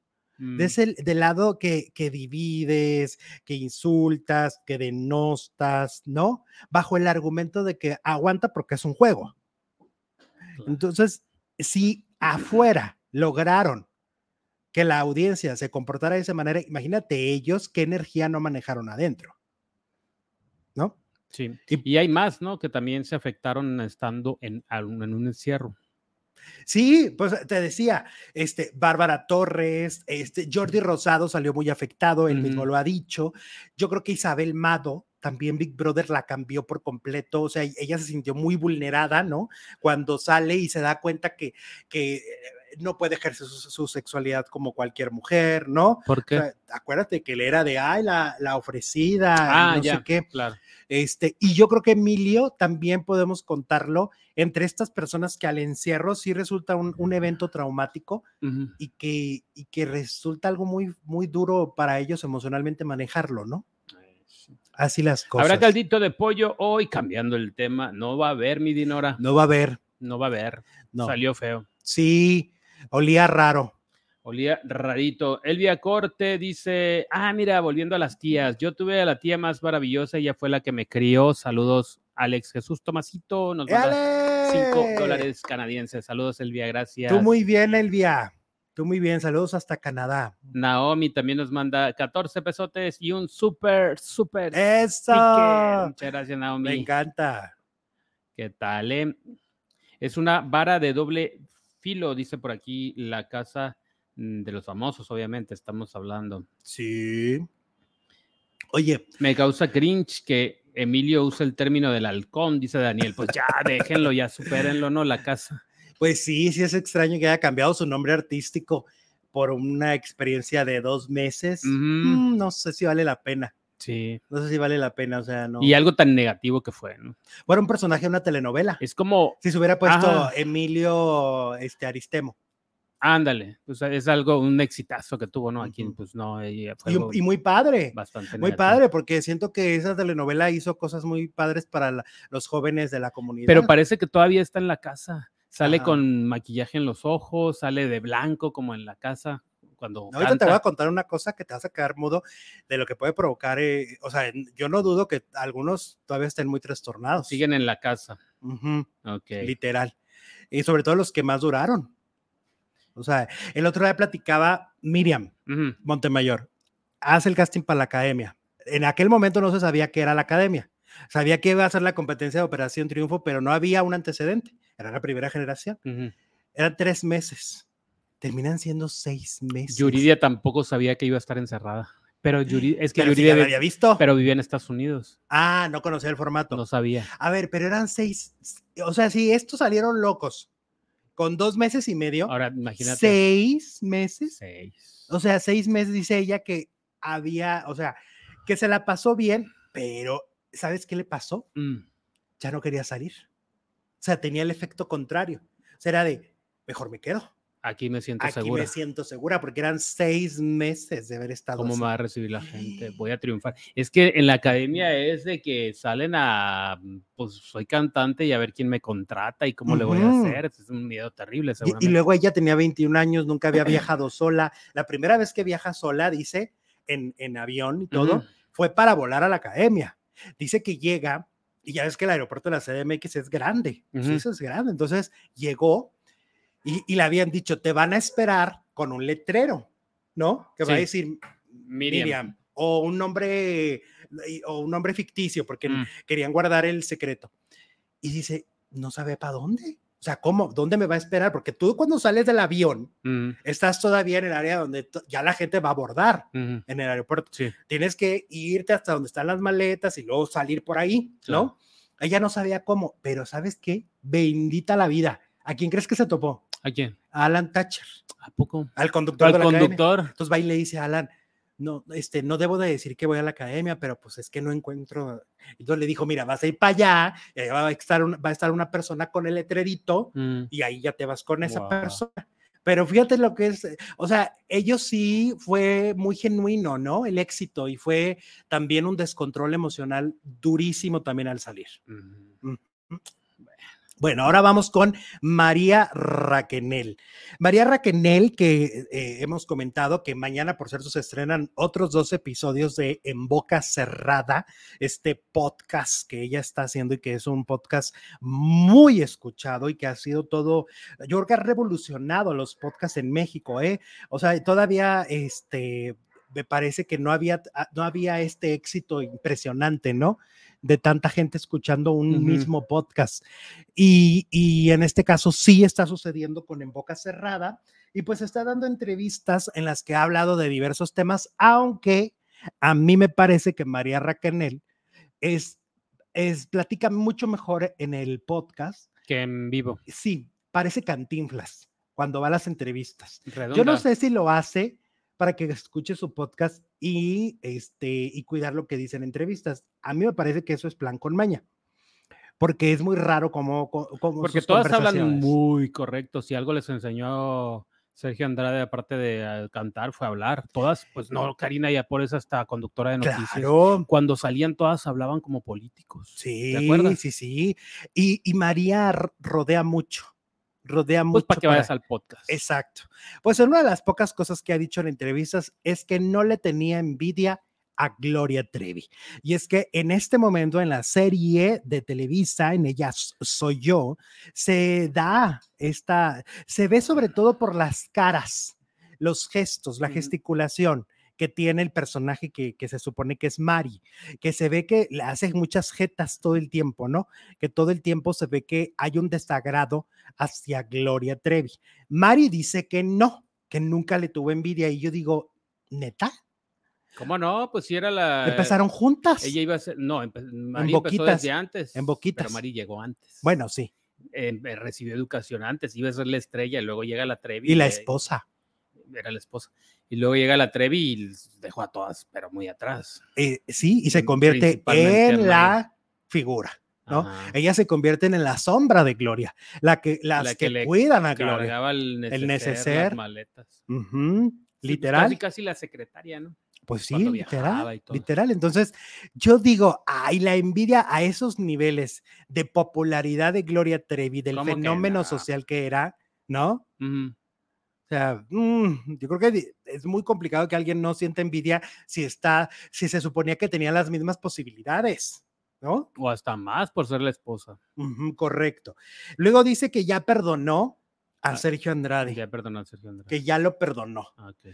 del lado que divides, que insultas, que denostas, ¿no? Bajo el argumento de que aguanta porque es un juego. Entonces, si afuera lograron que la audiencia se comportara de esa manera, imagínate ellos qué energía no manejaron adentro, ¿no? Sí, y hay más, ¿no? Que también se afectaron estando en un encierro. Sí, pues te decía, Bárbara Torres, Jordi Rosado salió muy afectado, él mismo lo ha dicho. Yo creo que Isabel Mado, también Big Brother la cambió por completo, o sea, ella se sintió muy vulnerada, ¿no? Cuando sale y se da cuenta que no puede ejercer su sexualidad como cualquier mujer, ¿no? ¿Por qué? O sea, acuérdate que él era de, la ofrecida, no sé qué. Claro. Y yo creo que Emilio también podemos contarlo entre estas personas que al encierro sí resulta un evento traumático y que resulta algo muy, muy duro para ellos emocionalmente manejarlo, ¿no? Así las cosas. Habrá caldito de pollo hoy, cambiando el tema. No va a haber, mi Dinora. No va a haber. No va a haber. No. Salió feo. Sí, olía raro. Olía rarito. Elvia Corte dice, mira, volviendo a las tías, yo tuve a la tía más maravillosa, ella fue la que me crió. Saludos, Alex Jesús Tomasito, nos manda $5 canadienses. Saludos, Elvia, gracias. Tú muy bien, Elvia. Tú muy bien, saludos hasta Canadá. Naomi también nos manda 14 pesotes y un súper ¡Eso! sticker. Muchas gracias, Naomi. Me encanta. ¿Qué tal, Es una vara de doble Filo, dice por aquí, la casa de los famosos, obviamente, estamos hablando. Sí. Oye. Me causa cringe que Emilio use el término del halcón, dice Daniel. Pues ya, déjenlo, ya supérenlo, ¿no? La casa. Pues sí es extraño que haya cambiado su nombre artístico por una experiencia de 2 meses. No sé si vale la pena. Sí. No sé si vale la pena, o sea, no. Y algo tan negativo que fue, ¿no? Bueno, un personaje de una telenovela. Es como... Si se hubiera puesto Emilio Aristemo. Ándale, pues es algo, un exitazo que tuvo, ¿no? Aquí, pues no, fue y muy padre. Bastante muy negativo. padre, porque siento que esa telenovela hizo cosas muy padres para los jóvenes de la comunidad. Pero parece que todavía está en la casa. Sale con maquillaje en los ojos, sale de blanco como en la casa. Cuando ahorita te voy a contar una cosa que te vas a quedar mudo de lo que puede provocar, o sea, yo no dudo que algunos todavía estén muy trastornados. Siguen en la casa. Okay. Literal. Y sobre todo los que más duraron. O sea, el otro día platicaba Miriam Montemayor, hace el casting para la academia. En aquel momento no se sabía qué era la academia. Sabía que iba a ser la competencia de Operación Triunfo, pero no había un antecedente. Era la primera generación. Eran 3 meses. Terminan siendo 6 meses. Yuridia tampoco sabía que iba a estar encerrada. Pero Yuridia ya la había visto. Pero vivía en Estados Unidos. No conocía el formato. No sabía. A ver, pero eran 6. O sea, si estos salieron locos con 2 meses y medio. Ahora, imagínate. 6 meses. 6. O sea, 6 meses, dice ella, que había, o sea, que se la pasó bien, pero ¿sabes qué le pasó? Ya no quería salir. O sea, tenía el efecto contrario. O sea, era de, mejor me quedo. Aquí me siento segura. Aquí me siento segura porque eran 6 meses de haber estado ¿Cómo me va a recibir la gente? Voy a triunfar. Es que en la academia es de que salen pues soy cantante y a ver quién me contrata y cómo le voy a hacer. Es un miedo terrible, seguramente. Y luego ella tenía 21 años, nunca había viajado sola. La primera vez que viaja sola, dice, en avión y todo, fue para volar a la academia. Dice que llega, y ya ves que el aeropuerto de la CDMX es grande. Sí, eso es grande. Entonces llegó. Y le habían dicho, te van a esperar con un letrero, ¿no? Que va a decir Miriam. O un nombre ficticio, porque querían guardar el secreto. Y dice, no sabe para dónde. O sea, ¿cómo? ¿Dónde me va a esperar? Porque tú cuando sales del avión, estás todavía en el área donde ya la gente va a abordar en el aeropuerto. Sí. Tienes que irte hasta donde están las maletas y luego salir por ahí, ¿no? Ella no sabía cómo, pero ¿sabes qué? Bendita la vida. ¿A quién crees que se topó? ¿A quién? A Alan Thatcher. ¿A poco? Al conductor de la conductor. Academia. Entonces va y le dice a Alan, no debo de decir que voy a la academia, pero pues es que no encuentro. Entonces le dijo, mira, vas a ir para allá, y allá va a estar una persona con el letrerito y ahí ya te vas con esa persona. Pero fíjate lo que es, o sea, ellos sí fue muy genuino, ¿no? El éxito, y fue también un descontrol emocional durísimo también al salir. Bueno, ahora vamos con María Raquenel. María Raquenel, que hemos comentado que mañana, por cierto, se estrenan otros 2 episodios de En Boca Cerrada, este podcast que ella está haciendo y que es un podcast muy escuchado y que ha sido todo, yo creo que ha revolucionado los podcasts en México, ¿eh? O sea, todavía me parece que no había este éxito impresionante, ¿no? De tanta gente escuchando un mismo podcast. Y en este caso sí está sucediendo con En Boca Cerrada, y pues está dando entrevistas en las que ha hablado de diversos temas, aunque a mí me parece que María Raquenel platica mucho mejor en el podcast que en vivo. Sí, parece Cantinflas cuando va a las entrevistas. Redonda. Yo no sé si lo hace para que escuche su podcast y cuidar lo que dice en entrevistas. A mí me parece que eso es plan con maña, porque es muy raro como porque todas hablan muy correcto. Si algo les enseñó Sergio Andrade, aparte de cantar, fue hablar. Todas, pues no, Karina Yapor es hasta conductora de noticias. Claro. Cuando salían todas hablaban como políticos. Sí, ¿te acuerdas? Sí. Y María rodea mucho. Pues para que vayas al podcast. Exacto. Pues una de las pocas cosas que ha dicho en entrevistas es que no le tenía envidia a Gloria Trevi. Y es que en este momento en la serie de Televisa, en Ella Soy Yo, se ve sobre todo por las caras, los gestos, la gesticulación, que tiene el personaje que se supone que es Mari, que se ve que le hace muchas jetas todo el tiempo, ¿no? Que todo el tiempo se ve que hay un desagrado hacia Gloria Trevi. Mari dice que no, que nunca le tuvo envidia, y yo digo, ¿neta? ¿Cómo no? Pues si era la... ¿Empezaron juntas? Ella iba a ser... No, Boquitas, Mari empezó desde antes. En Boquitas. Pero Mari llegó antes. Bueno, sí. Recibió educación antes, iba a ser la estrella, y luego llega la Trevi. Y la esposa. Era la esposa. Y luego llega la Trevi y dejó a todas, pero muy atrás. Sí, y se convierte en la figura, ¿no? Ajá. Ella se convierte en la sombra de Gloria, las que le cuidan a Gloria. El neceser, las maletas. Sí, literal. Pues casi la secretaria, ¿no? Pues sí, literal. Entonces, yo digo, ay, la envidia a esos niveles de popularidad de Gloria Trevi, del fenómeno social que era, ¿no? O sea, yo creo que es muy complicado que alguien no sienta envidia si se suponía que tenía las mismas posibilidades, ¿no? O hasta más por ser la esposa. Correcto. Luego dice que ya perdonó a Sergio Andrade. Ya perdonó a Sergio Andrade. Que ya lo perdonó. Okay.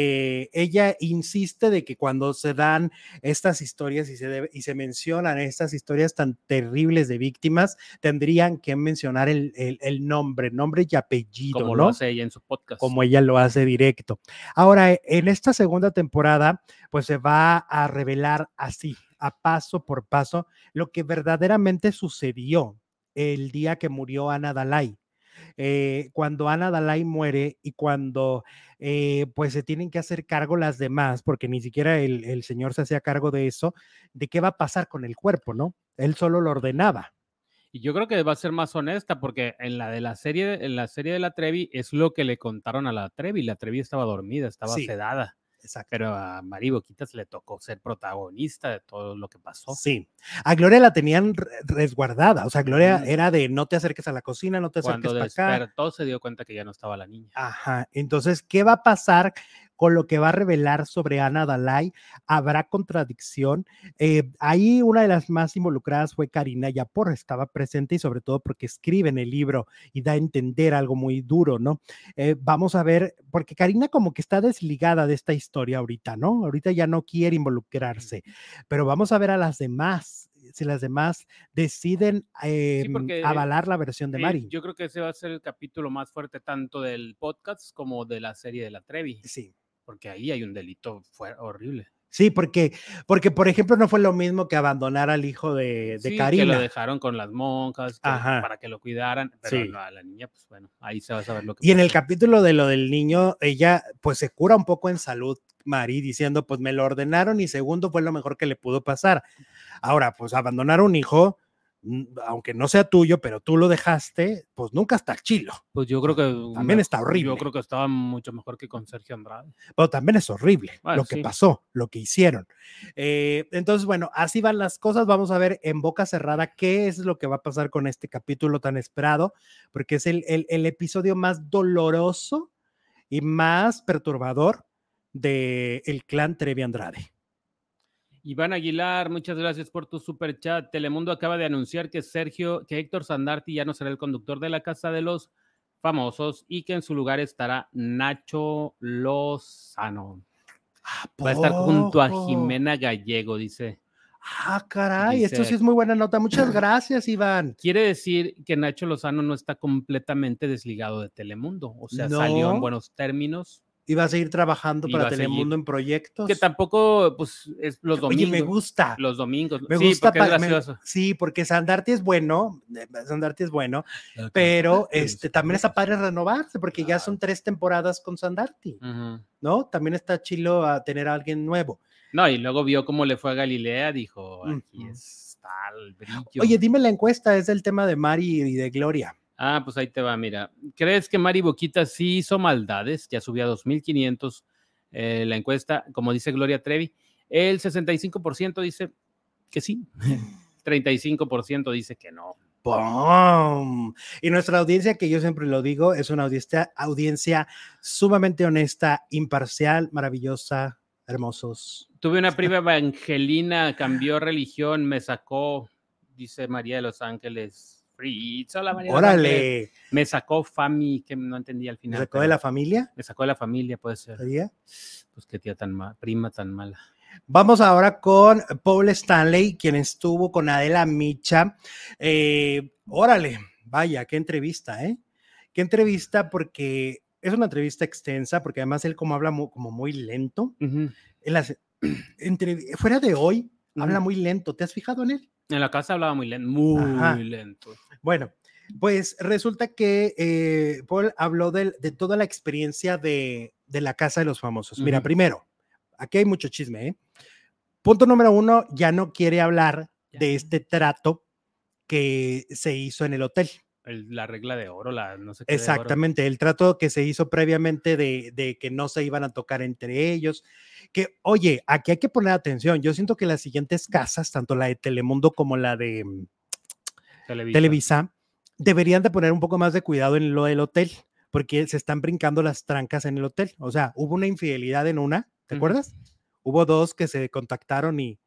Ella insiste de que cuando se dan estas historias y se mencionan estas historias tan terribles de víctimas, tendrían que mencionar el nombre y apellido, como ¿no? lo hace ella en su podcast. Como ella lo hace directo. Ahora, en esta segunda temporada, pues se va a revelar así, a paso por paso, lo que verdaderamente sucedió el día que murió Ana Dalai. Cuando Ana Dalai muere y cuando pues se tienen que hacer cargo las demás, porque ni siquiera el señor se hacía cargo de eso, de qué va a pasar con el cuerpo, ¿no? Él solo lo ordenaba. Y yo creo que va a ser más honesta, porque en la serie de la Trevi es lo que le contaron a la Trevi estaba dormida, estaba sedada. Exacto. Pero a Mari Boquitas le tocó ser protagonista de todo lo que pasó. Sí, a Gloria la tenían resguardada, o sea, Gloria era de no te acerques a la cocina, no te acerques para acá. Cuando despertó se dio cuenta que ya no estaba la niña. Ajá, entonces, ¿qué va a pasar con lo que va a revelar sobre Ana Dalai? ¿Habrá contradicción? Ahí una de las más involucradas fue Karina Yapor, estaba presente y sobre todo porque escribe en el libro y da a entender algo muy duro, ¿no? Vamos a ver, porque Karina como que está desligada de esta historia ahorita, ¿no? Ahorita ya no quiere involucrarse, pero vamos a ver a las demás, si las demás deciden avalar la versión de Mari. Yo creo que ese va a ser el capítulo más fuerte tanto del podcast como de la serie de la Trevi. Sí. Porque ahí hay un delito horrible. Sí, porque por ejemplo no fue lo mismo que abandonar al hijo de Karina. Que lo dejaron con las monjas para que lo cuidaran, pero no, a la niña, pues bueno, ahí se va a saber lo que pasó. En el capítulo de lo del niño, ella pues se cura un poco en salud, Mari, diciendo pues me lo ordenaron y segundo fue lo mejor que le pudo pasar. Ahora, pues abandonar a un hijo, aunque no sea tuyo, pero tú lo dejaste, pues nunca está chilo. Pues yo creo que también está horrible. Yo creo que estaba mucho mejor que con Sergio Andrade. Pero también es horrible lo que pasó, lo que hicieron. Entonces, bueno, así van las cosas. Vamos a ver en boca cerrada qué es lo que va a pasar con este capítulo tan esperado, porque es el episodio más doloroso y más perturbador del clan Trevi Andrade. Iván Aguilar, muchas gracias por tu super chat. Telemundo acaba de anunciar que Héctor Sandarti ya no será el conductor de la Casa de los Famosos y que en su lugar estará Nacho Lozano. Va a estar junto a Jimena Gallego, dice. Caray, esto sí es muy buena nota. Muchas gracias, Iván. Quiere decir que Nacho Lozano no está completamente desligado de Telemundo, o sea, salió en buenos términos. Iba a seguir trabajando para Telemundo en proyectos. Que tampoco, pues, es los domingos. Oye, me gusta. Los domingos. Me gusta porque es gracioso. Sí, porque Sandarti es bueno, pero también está padre renovarse, porque ya son 3 temporadas con Sandarti, ¿no? También está chilo a tener a alguien nuevo. No, y luego vio cómo le fue a Galilea, dijo, aquí está el brillo. Oye, dime la encuesta, es del tema de Mari y de Gloria. Pues ahí te va, mira. ¿Crees que Mari Boquitas sí hizo maldades? Ya subió a 2,500 la encuesta, como dice Gloria Trevi. El 65% dice que sí, 35% dice que no. ¡Bum! Y nuestra audiencia, que yo siempre lo digo, es una audiencia sumamente honesta, imparcial, maravillosa, hermosos. Tuve una prima evangelina, cambió religión, me sacó, dice María de los Ángeles Fritzo, la María ¡Órale! Me sacó Fami, que no entendía al final. ¿Me sacó de la familia? Me sacó de la familia, puede ser. ¿Sería? Pues qué tía tan mala, prima tan mala. Vamos ahora con Paul Stanley, quien estuvo con Adela Micha. Órale, vaya, qué entrevista, ¿eh? Qué entrevista, porque es una entrevista extensa, porque además él como habla como muy lento. En las, fuera de hoy, habla muy lento. ¿Te has fijado en él? En la casa hablaba muy lento, muy lento. Bueno, pues resulta que Paul habló de toda la experiencia de la Casa de los Famosos. Mira, primero, aquí hay mucho chisme, ¿eh? Punto número 1, ya no quiere hablar de este trato que se hizo en el hotel. La regla de oro, no sé qué. Exactamente, de oro. El trato que se hizo previamente de que no se iban a tocar entre ellos. Que, oye, aquí hay que poner atención. Yo siento que las siguientes casas, tanto la de Telemundo como la de Televisa, deberían de poner un poco más de cuidado en lo del hotel, porque se están brincando las trancas en el hotel. O sea, hubo una infidelidad en una, ¿te acuerdas? Hubo 2 que se contactaron y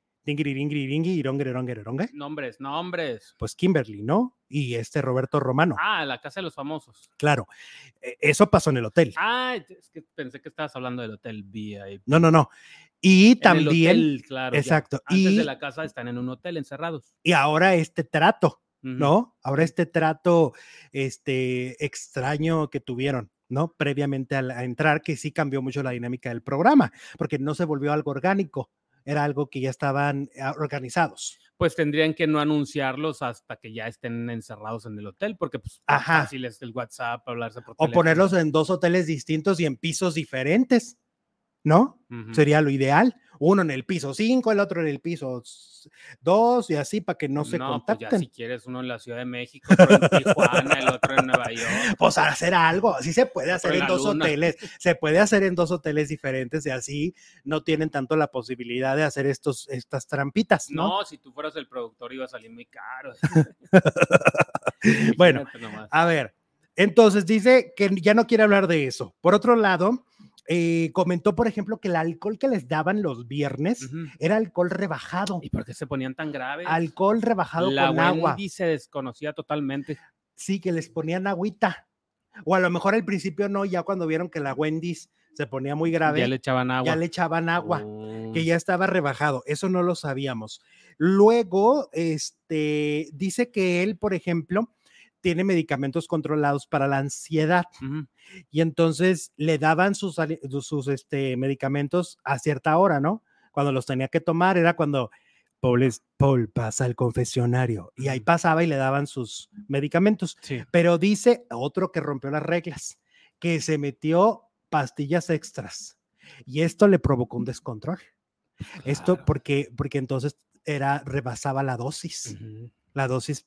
Nombres. Pues Kimberly, ¿no? Y Roberto Romano. La Casa de los Famosos. Claro, eso pasó en el hotel. Es que pensé que estabas hablando del hotel VIP. No. Y también, el hotel, claro, exacto. Antes de la casa están en un hotel encerrados. Y ahora trato, ¿no? Ahora trato extraño que tuvieron, ¿no? Previamente a entrar, que sí cambió mucho la dinámica del programa, porque no se volvió algo orgánico, era algo que ya estaban organizados. Pues tendrían que no anunciarlos hasta que ya estén encerrados en el hotel, porque pues fácil es el WhatsApp, hablarse por teléfono. O ponerlos en 2 hoteles distintos y en pisos diferentes, ¿no? Sería lo ideal. Uno en el piso 5, el otro en el piso 2 y así para que no se contacten. Pues ya si quieres uno en la Ciudad de México, otro en Tijuana, el otro en Nueva York. Pues hacer algo, así se puede hacer en 2 hoteles, se puede hacer en 2 hoteles diferentes y así no tienen tanto la posibilidad de hacer estas trampitas, ¿no? No, si tú fueras el productor iba a salir muy caro. Bueno, a ver, entonces dice que ya no quiere hablar de eso. Por otro lado, comentó, por ejemplo, que el alcohol que les daban los viernes era alcohol rebajado. ¿Y por qué se ponían tan graves? Alcohol rebajado con agua. La Wendy se desconocía totalmente. Sí, que les ponían agüita. O a lo mejor al principio no, ya cuando vieron que la Wendy's se ponía muy grave. Ya le echaban agua. Que ya estaba rebajado. Eso no lo sabíamos. Luego, dice que él, por ejemplo, tiene medicamentos controlados para la ansiedad. Y entonces le daban sus medicamentos a cierta hora, ¿no? Cuando los tenía que tomar era cuando Paul pasa al confesionario y ahí pasaba y le daban sus medicamentos. Sí. Pero dice otro que rompió las reglas, que se metió pastillas extras y esto le provocó un descontrol. Claro. Esto porque entonces rebasaba la dosis. La dosis,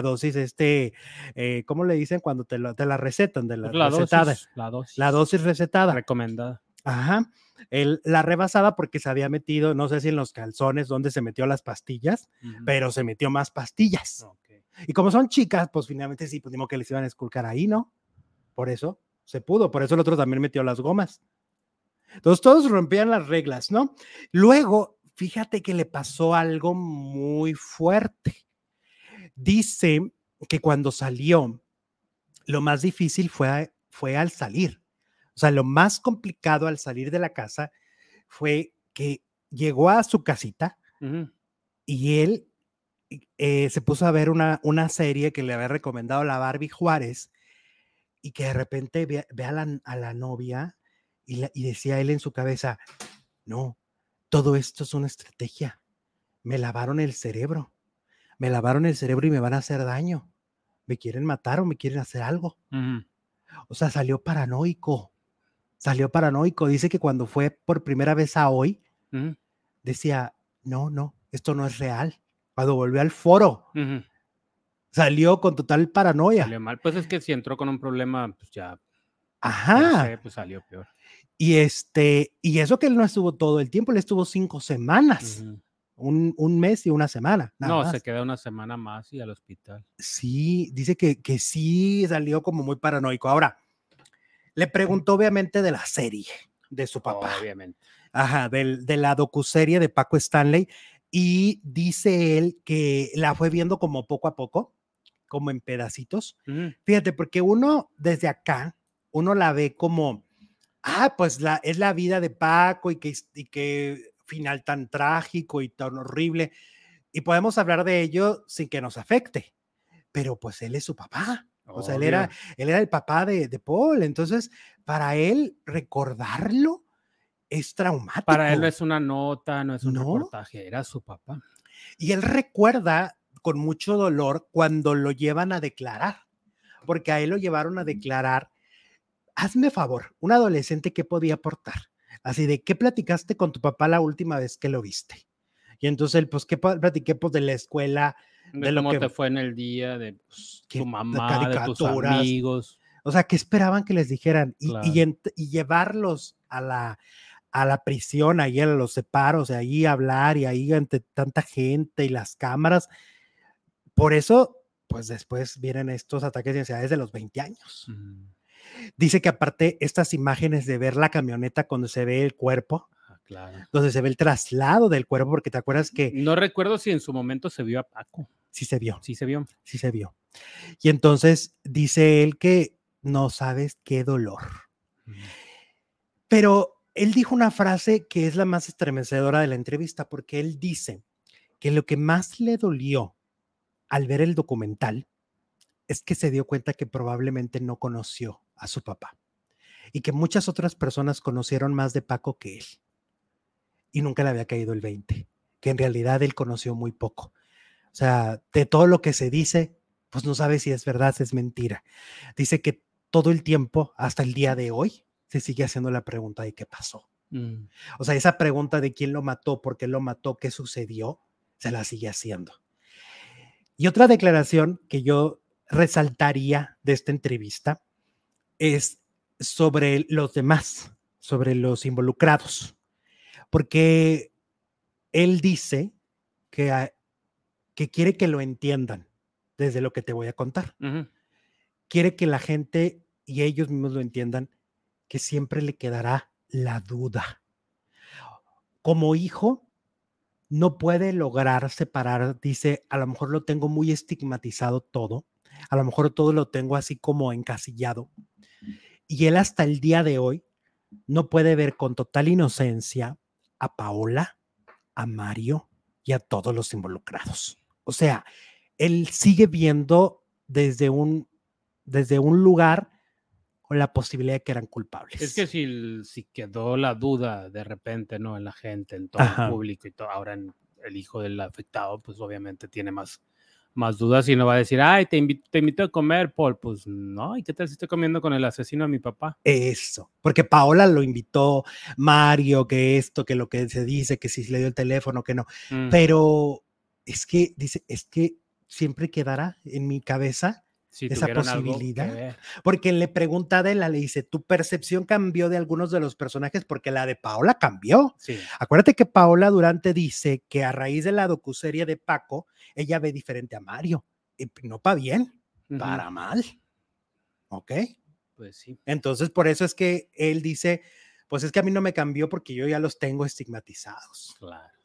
¿cómo le dicen cuando te la recetan? De la recetada. La dosis recetada. Recomendada. Ajá. Él la rebasaba porque se había metido, no sé si en los calzones donde se metió las pastillas, pero se metió más pastillas. Okay. Y como son chicas, pues finalmente sí, pues digo que les iban a esculcar ahí, ¿no? Por eso se pudo, por eso el otro también metió las gomas. Entonces todos rompían las reglas, ¿no? Luego, fíjate que le pasó algo muy fuerte. Dice que cuando salió, lo más difícil fue al salir. O sea, lo más complicado al salir de la casa fue que llegó a su casita y él se puso a ver una serie que le había recomendado la Barbie Juárez y que de repente ve a la novia y decía él en su cabeza, no, todo esto es una estrategia. Me lavaron el cerebro y me van a hacer daño. Me quieren matar o me quieren hacer algo. O sea, salió paranoico. Dice que cuando fue por primera vez a Hoy, decía, no, esto no es real. Cuando volvió al foro, salió con total paranoia. Salió mal. Pues es que si entró con un problema, pues ya. Ajá. Pues salió peor. Y eso que él no estuvo todo el tiempo, él estuvo 5 semanas. Un mes y una semana. No, se queda una semana más y al hospital. Sí, dice que sí salió como muy paranoico. Ahora, le preguntó obviamente de la serie de su papá. Obviamente. Ajá, de la docuserie de Paco Stanley. Y dice él que la fue viendo como poco a poco, como en pedacitos. Fíjate, porque uno desde acá, uno la ve como, pues es la vida de Paco y que final tan trágico y tan horrible. Y podemos hablar de ello sin que nos afecte, pero pues él es su papá. O sea, él era el papá de Paul. Entonces, para él recordarlo es traumático. Para él no es una nota, no es un reportaje, era su papá. Y él recuerda con mucho dolor cuando lo llevan a declarar, porque a él lo llevaron a declarar. Hazme favor, un adolescente, ¿qué podía aportar? Así de, ¿qué platicaste con tu papá la última vez que lo viste? Y entonces él, pues, ¿qué platiqué? Pues de la escuela, de cómo te fue en el día, de tu mamá, de tus amigos. O sea, ¿qué esperaban que les dijeran? Y llevarlos a la prisión, ahí a los separos, ahí hablar y ahí ante tanta gente y las cámaras. Por eso, pues después vienen estos ataques de ansiedad desde los 20 años. Dice que aparte estas imágenes de ver la camioneta cuando se ve el cuerpo, donde se ve el traslado del cuerpo, porque te acuerdas que... No recuerdo si en su momento se vio a Paco. Sí se vio. Sí se vio. Sí se vio. Y entonces dice él que no sabes qué dolor. Pero él dijo una frase que es la más estremecedora de la entrevista, porque él dice que lo que más le dolió al ver el documental es que se dio cuenta que probablemente no conoció a su papá y que muchas otras personas conocieron más de Paco que él y nunca le había caído el 20, que en realidad él conoció muy poco. O sea, de todo lo que se dice, pues no sabe si es verdad, si es mentira. Dice que todo el tiempo, hasta el día de hoy, se sigue haciendo la pregunta de qué pasó. O sea, esa pregunta de quién lo mató, por qué lo mató, qué sucedió, se la sigue haciendo. Y otra declaración que yo resaltaría de esta entrevista es sobre los demás, sobre los involucrados, porque él dice que quiere que lo entiendan desde lo que te voy a contar. Quiere que la gente y ellos mismos lo entiendan, que siempre le quedará la duda. Como hijo, no puede lograr separar, dice, a lo mejor lo tengo muy estigmatizado todo, a lo mejor todo lo tengo así como encasillado. Y él hasta el día de hoy no puede ver con total inocencia a Paola, a Mario y a todos los involucrados. O sea, él sigue viendo desde un lugar con la posibilidad de que eran culpables. Es que si quedó la duda de repente, ¿no? En la gente, en todo el público y todo, ahora en el hijo del afectado, pues obviamente tiene más dudas y no va a decir, ay, te invito a comer, Paul. Pues no, ¿y qué tal si estoy comiendo con el asesino de mi papá? Eso, porque Paola lo invitó, Mario, que esto, que lo que se dice, que si le dio el teléfono, que no. Pero es que, dice, es que siempre quedará en mi cabeza esa posibilidad. Porque le pregunta a Adela, le dice, ¿tu percepción cambió de algunos de los personajes? Porque la de Paola cambió. Sí. Acuérdate que Paola Durante dice que a raíz de la docuserie de Paco, ella ve diferente a Mario. Y no para bien, para mal. ¿Ok? Pues sí. Entonces, por eso es que él dice, pues es que a mí no me cambió porque yo ya los tengo estigmatizados. Claro.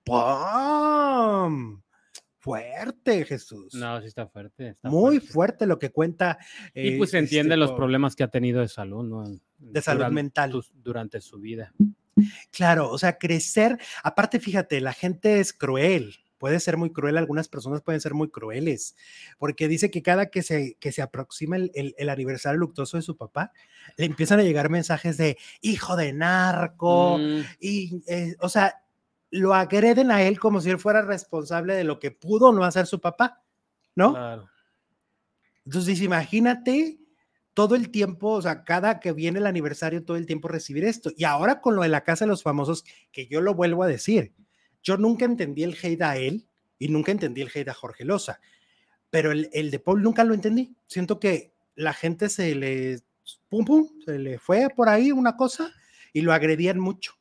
¡Pum! Fuerte, Jesús. No, sí está fuerte. Muy fuerte lo que cuenta. Y pues se entiende los problemas que ha tenido de salud, ¿no? De salud mental. Durante su vida. Claro, o sea, crecer. Aparte, fíjate, la gente es cruel. Puede ser muy cruel, algunas personas pueden ser muy crueles, porque dice que cada que se aproxima el aniversario luctuoso de su papá, le empiezan a llegar mensajes de hijo de narco, y o sea, lo agreden a él como si él fuera responsable de lo que pudo no hacer su papá, ¿no? Claro. Entonces, imagínate todo el tiempo, o sea, cada que viene el aniversario, todo el tiempo recibir esto. Y ahora con lo de la Casa de los Famosos, que yo lo vuelvo a decir, yo nunca entendí el hate a él y nunca entendí el hate a Jorge Loza, pero el de Paul nunca lo entendí. Siento que la gente se le fue por ahí una cosa y lo agredían mucho,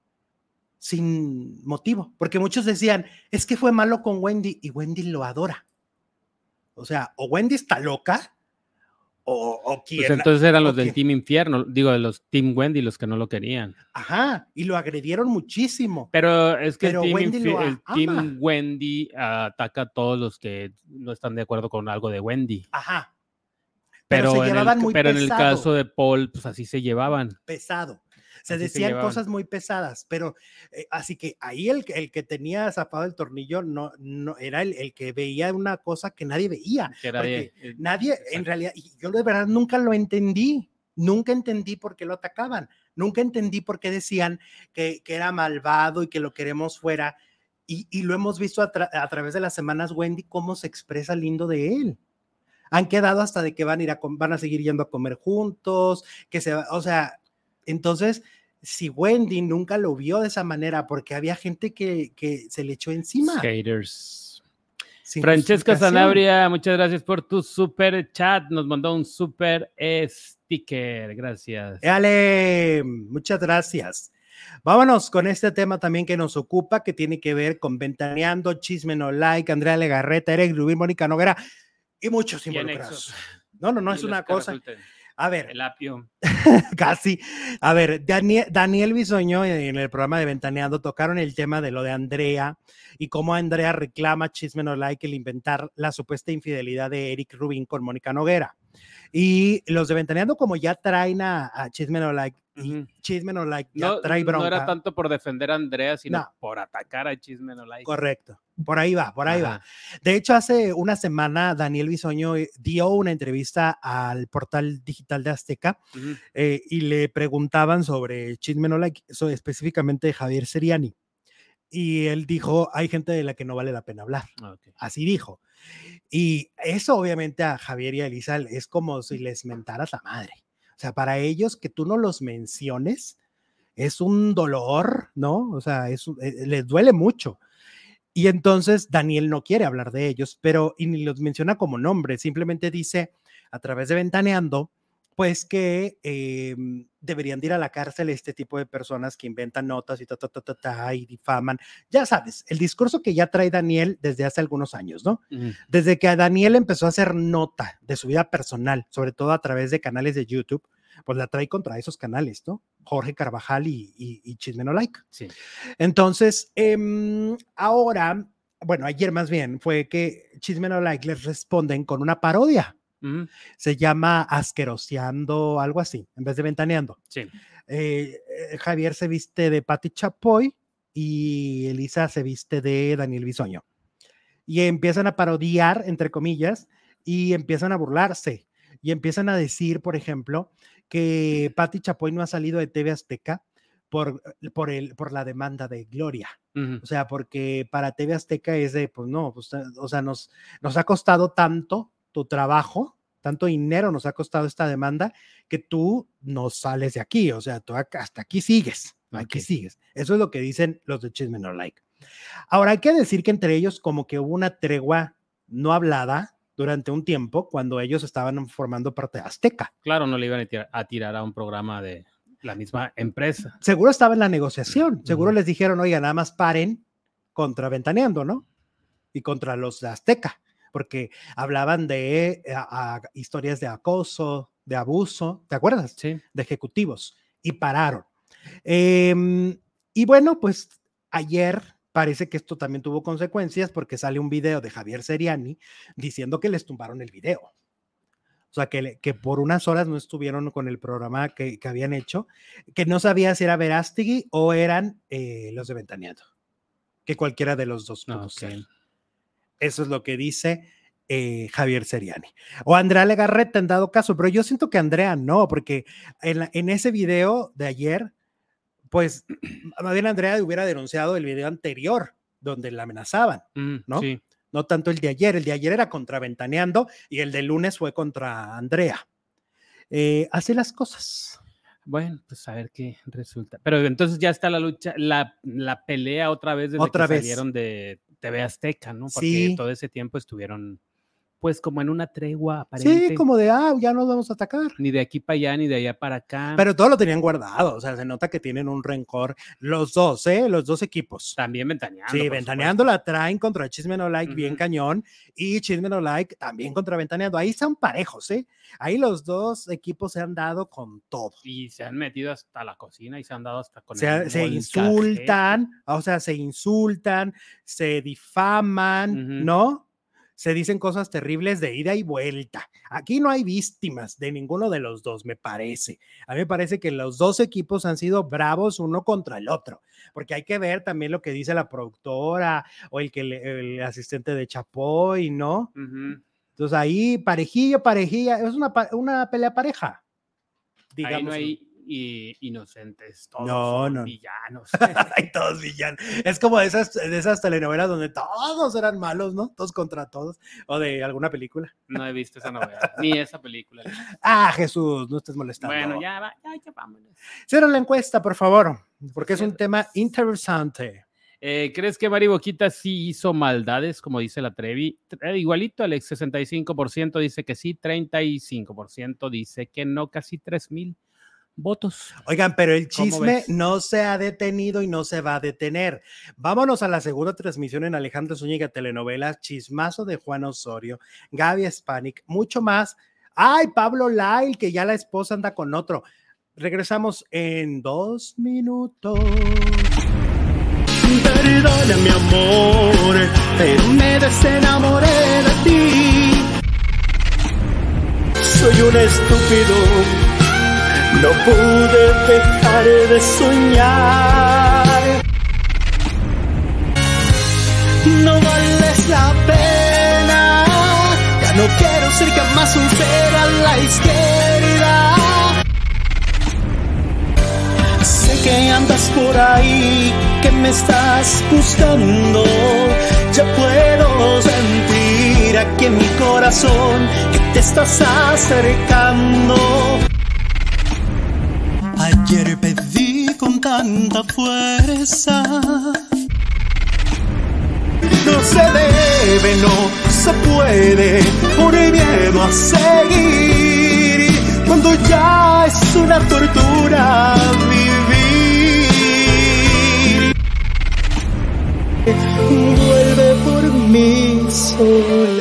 sin motivo, porque muchos decían, es que fue malo con Wendy y Wendy lo adora. O sea, o Wendy está loca o quién. Pues entonces eran los del Team Infierno, digo, de los Team Wendy, los que no lo querían. Ajá, y lo agredieron muchísimo. Pero es que el Team Wendy ataca a todos los que no están de acuerdo con algo de Wendy. Ajá. Pero se llevaban muy pesado. En el caso de Paul, pues así se llevaban. Pesado. Se decían cosas muy pesadas, pero así que ahí el que tenía zapado el tornillo no era el que veía una cosa que nadie veía. Nadie, en realidad, y yo de verdad nunca lo entendí. Nunca entendí por qué lo atacaban. Nunca entendí por qué decían que era malvado y que lo queremos fuera. Y lo hemos visto a través de las semanas, Wendy, cómo se expresa lindo de él. Han quedado hasta de que van a seguir yendo a comer juntos, o sea, entonces, si Wendy nunca lo vio de esa manera, porque había gente que se le echó encima. Haters. Francesca Sanabria, muchas gracias por tu super chat. Nos mandó un super sticker. Gracias. ¡Éale! Muchas gracias. Vámonos con este tema también que nos ocupa, que tiene que ver con Ventaneando, Chisme No Like, Andrea Legarreta, Eric Rubín, Mónica Noguera y muchos involucrados. No es una cosa. A ver. El apio. Casi. A ver, Daniel Bisoño en el programa de Ventaneando tocaron el tema de lo de Andrea y cómo Andrea reclama Chisme No Like el inventar la supuesta infidelidad de Eric Rubín con Mónica Noguera. Y los de Ventaneando, como ya traen a Chisme No Like, y Chisme No Like ya trae bronca. No era tanto por defender a Andrea, sino por atacar a Chisme No Like. Correcto. Por ahí va. De hecho, hace una semana Daniel Bisoño dio una entrevista al portal digital de Azteca y le preguntaban sobre Chisme No Like, específicamente de Javier Seriani. Y él dijo, hay gente de la que no vale la pena hablar. Okay. Así dijo. Y eso obviamente a Javier y a Elisa es como si les mentaras la madre. O sea, para ellos que tú no los menciones es un dolor, ¿no? O sea, les duele mucho. Y entonces Daniel no quiere hablar de ellos, pero y ni los menciona como nombre, simplemente dice a través de Ventaneando, pues que deberían de ir a la cárcel este tipo de personas que inventan notas y difaman. Ya sabes, el discurso que ya trae Daniel desde hace algunos años, ¿no? Desde que Daniel empezó a hacer nota de su vida personal, sobre todo a través de canales de YouTube, pues la trae contra esos canales, ¿no? Jorge Carvajal y Chisme No Like. Sí. Entonces, ahora, bueno, ayer más bien, fue que Chisme No Like les responden con una parodia. Se llama Asqueroseando, algo así, en vez de Ventaneando. Sí. Javier se viste de Pati Chapoy y Elisa se viste de Daniel Bisoño. Y empiezan a parodiar, entre comillas, y empiezan a burlarse. Y empiezan a decir, por ejemplo, que Pati Chapoy no ha salido de TV Azteca por la demanda de Gloria. O sea, porque para TV Azteca es de, pues no, pues, o sea, nos ha costado tanto tu trabajo, tanto dinero nos ha costado esta demanda, que tú no sales de aquí, o sea, tú hasta aquí sigues, aquí sigues. Eso es lo que dicen los de Chisme No Like. Ahora, hay que decir que entre ellos como que hubo una tregua no hablada durante un tiempo cuando ellos estaban formando parte de Azteca. Claro, no le iban a tirar a un programa de la misma empresa. Seguro estaba en la negociación, seguro les dijeron, oiga, nada más paren contra Ventaneando, ¿no? Y contra los de Azteca, porque hablaban de historias de acoso, de abuso, ¿te acuerdas? Sí. De ejecutivos, y pararon. Y bueno, pues ayer parece que esto también tuvo consecuencias porque sale un video de Javier Seriani diciendo que les tumbaron el video. O sea, que por unas horas no estuvieron con el programa que habían hecho, que no sabía si era Verástegui o eran los de Ventaneando, que cualquiera de los dos pudo ser. Eso es lo que dice Javier Seriani. O Andrea Legarreta en dado caso, pero yo siento que Andrea no, porque en ese video de ayer, pues más bien Andrea hubiera denunciado el video anterior donde la amenazaban, ¿no? Sí. No tanto el de ayer era contra Ventaneando y el del lunes fue contra Andrea. Así las cosas. Bueno, pues a ver qué resulta. Pero entonces ya está la lucha, la pelea otra vez desde que salieron de TV Azteca, ¿no? Porque todo ese tiempo estuvieron pues como en una tregua aparente. Sí, como de, ya nos vamos a atacar. Ni de aquí para allá, ni de allá para acá. Pero todo lo tenían guardado, o sea, se nota que tienen un rencor los dos equipos. También ventaneando. Sí, ventaneando la traen contra Chisme No Like bien cañón, y Chisme No Like también contra ventaneando. Ahí son parejos, ahí los dos equipos se han dado con todo. Y se han metido hasta la cocina y se han dado hasta con se insultan, o sea, se insultan, se difaman, ¿no? Se dicen cosas terribles de ida y vuelta. Aquí no hay víctimas de ninguno de los dos, me parece. A mí me parece que los dos equipos han sido bravos uno contra el otro, porque hay que ver también lo que dice la productora o el asistente de Chapoy, ¿no? Entonces ahí parejilla, es una pelea pareja. Digamos. Ahí no hay inocentes, todos son villanos. Hay todos villanos. Es como de esas telenovelas donde todos eran malos, ¿no? Todos contra todos. O de alguna película. No he visto esa novela, ni esa película. Jesús, no estés molestando. Bueno, ya vámonos. Cierra la encuesta, por favor, porque es un tema interesante. ¿Crees que Mari Boquita sí hizo maldades, como dice la Trevi? Igualito, Alex, 65% dice que sí, 35% dice que no, casi 3,000 votos. Oigan, pero el chisme no se ha detenido y no se va a detener. Vámonos a la segunda transmisión en Alejandro Zúñiga Telenovelas, chismazo de Juan Osorio, Gaby Spanik, mucho más. ¡Ay, Pablo Lyle, que ya la esposa anda con otro! Regresamos en 2 minutos. Perdona, mi amor, pero me desenamoré de ti. Soy un estúpido, no pude dejar de soñar. No vales la pena, ya no quiero ser jamás un ser a la izquierda. Sé que andas por ahí, que me estás buscando. Ya puedo sentir aquí en mi corazón que te estás acercando. Ayer pedí con tanta fuerza. No se debe, no se puede, por el miedo a seguir. Cuando ya es una tortura vivir. Vuelve por mí sola.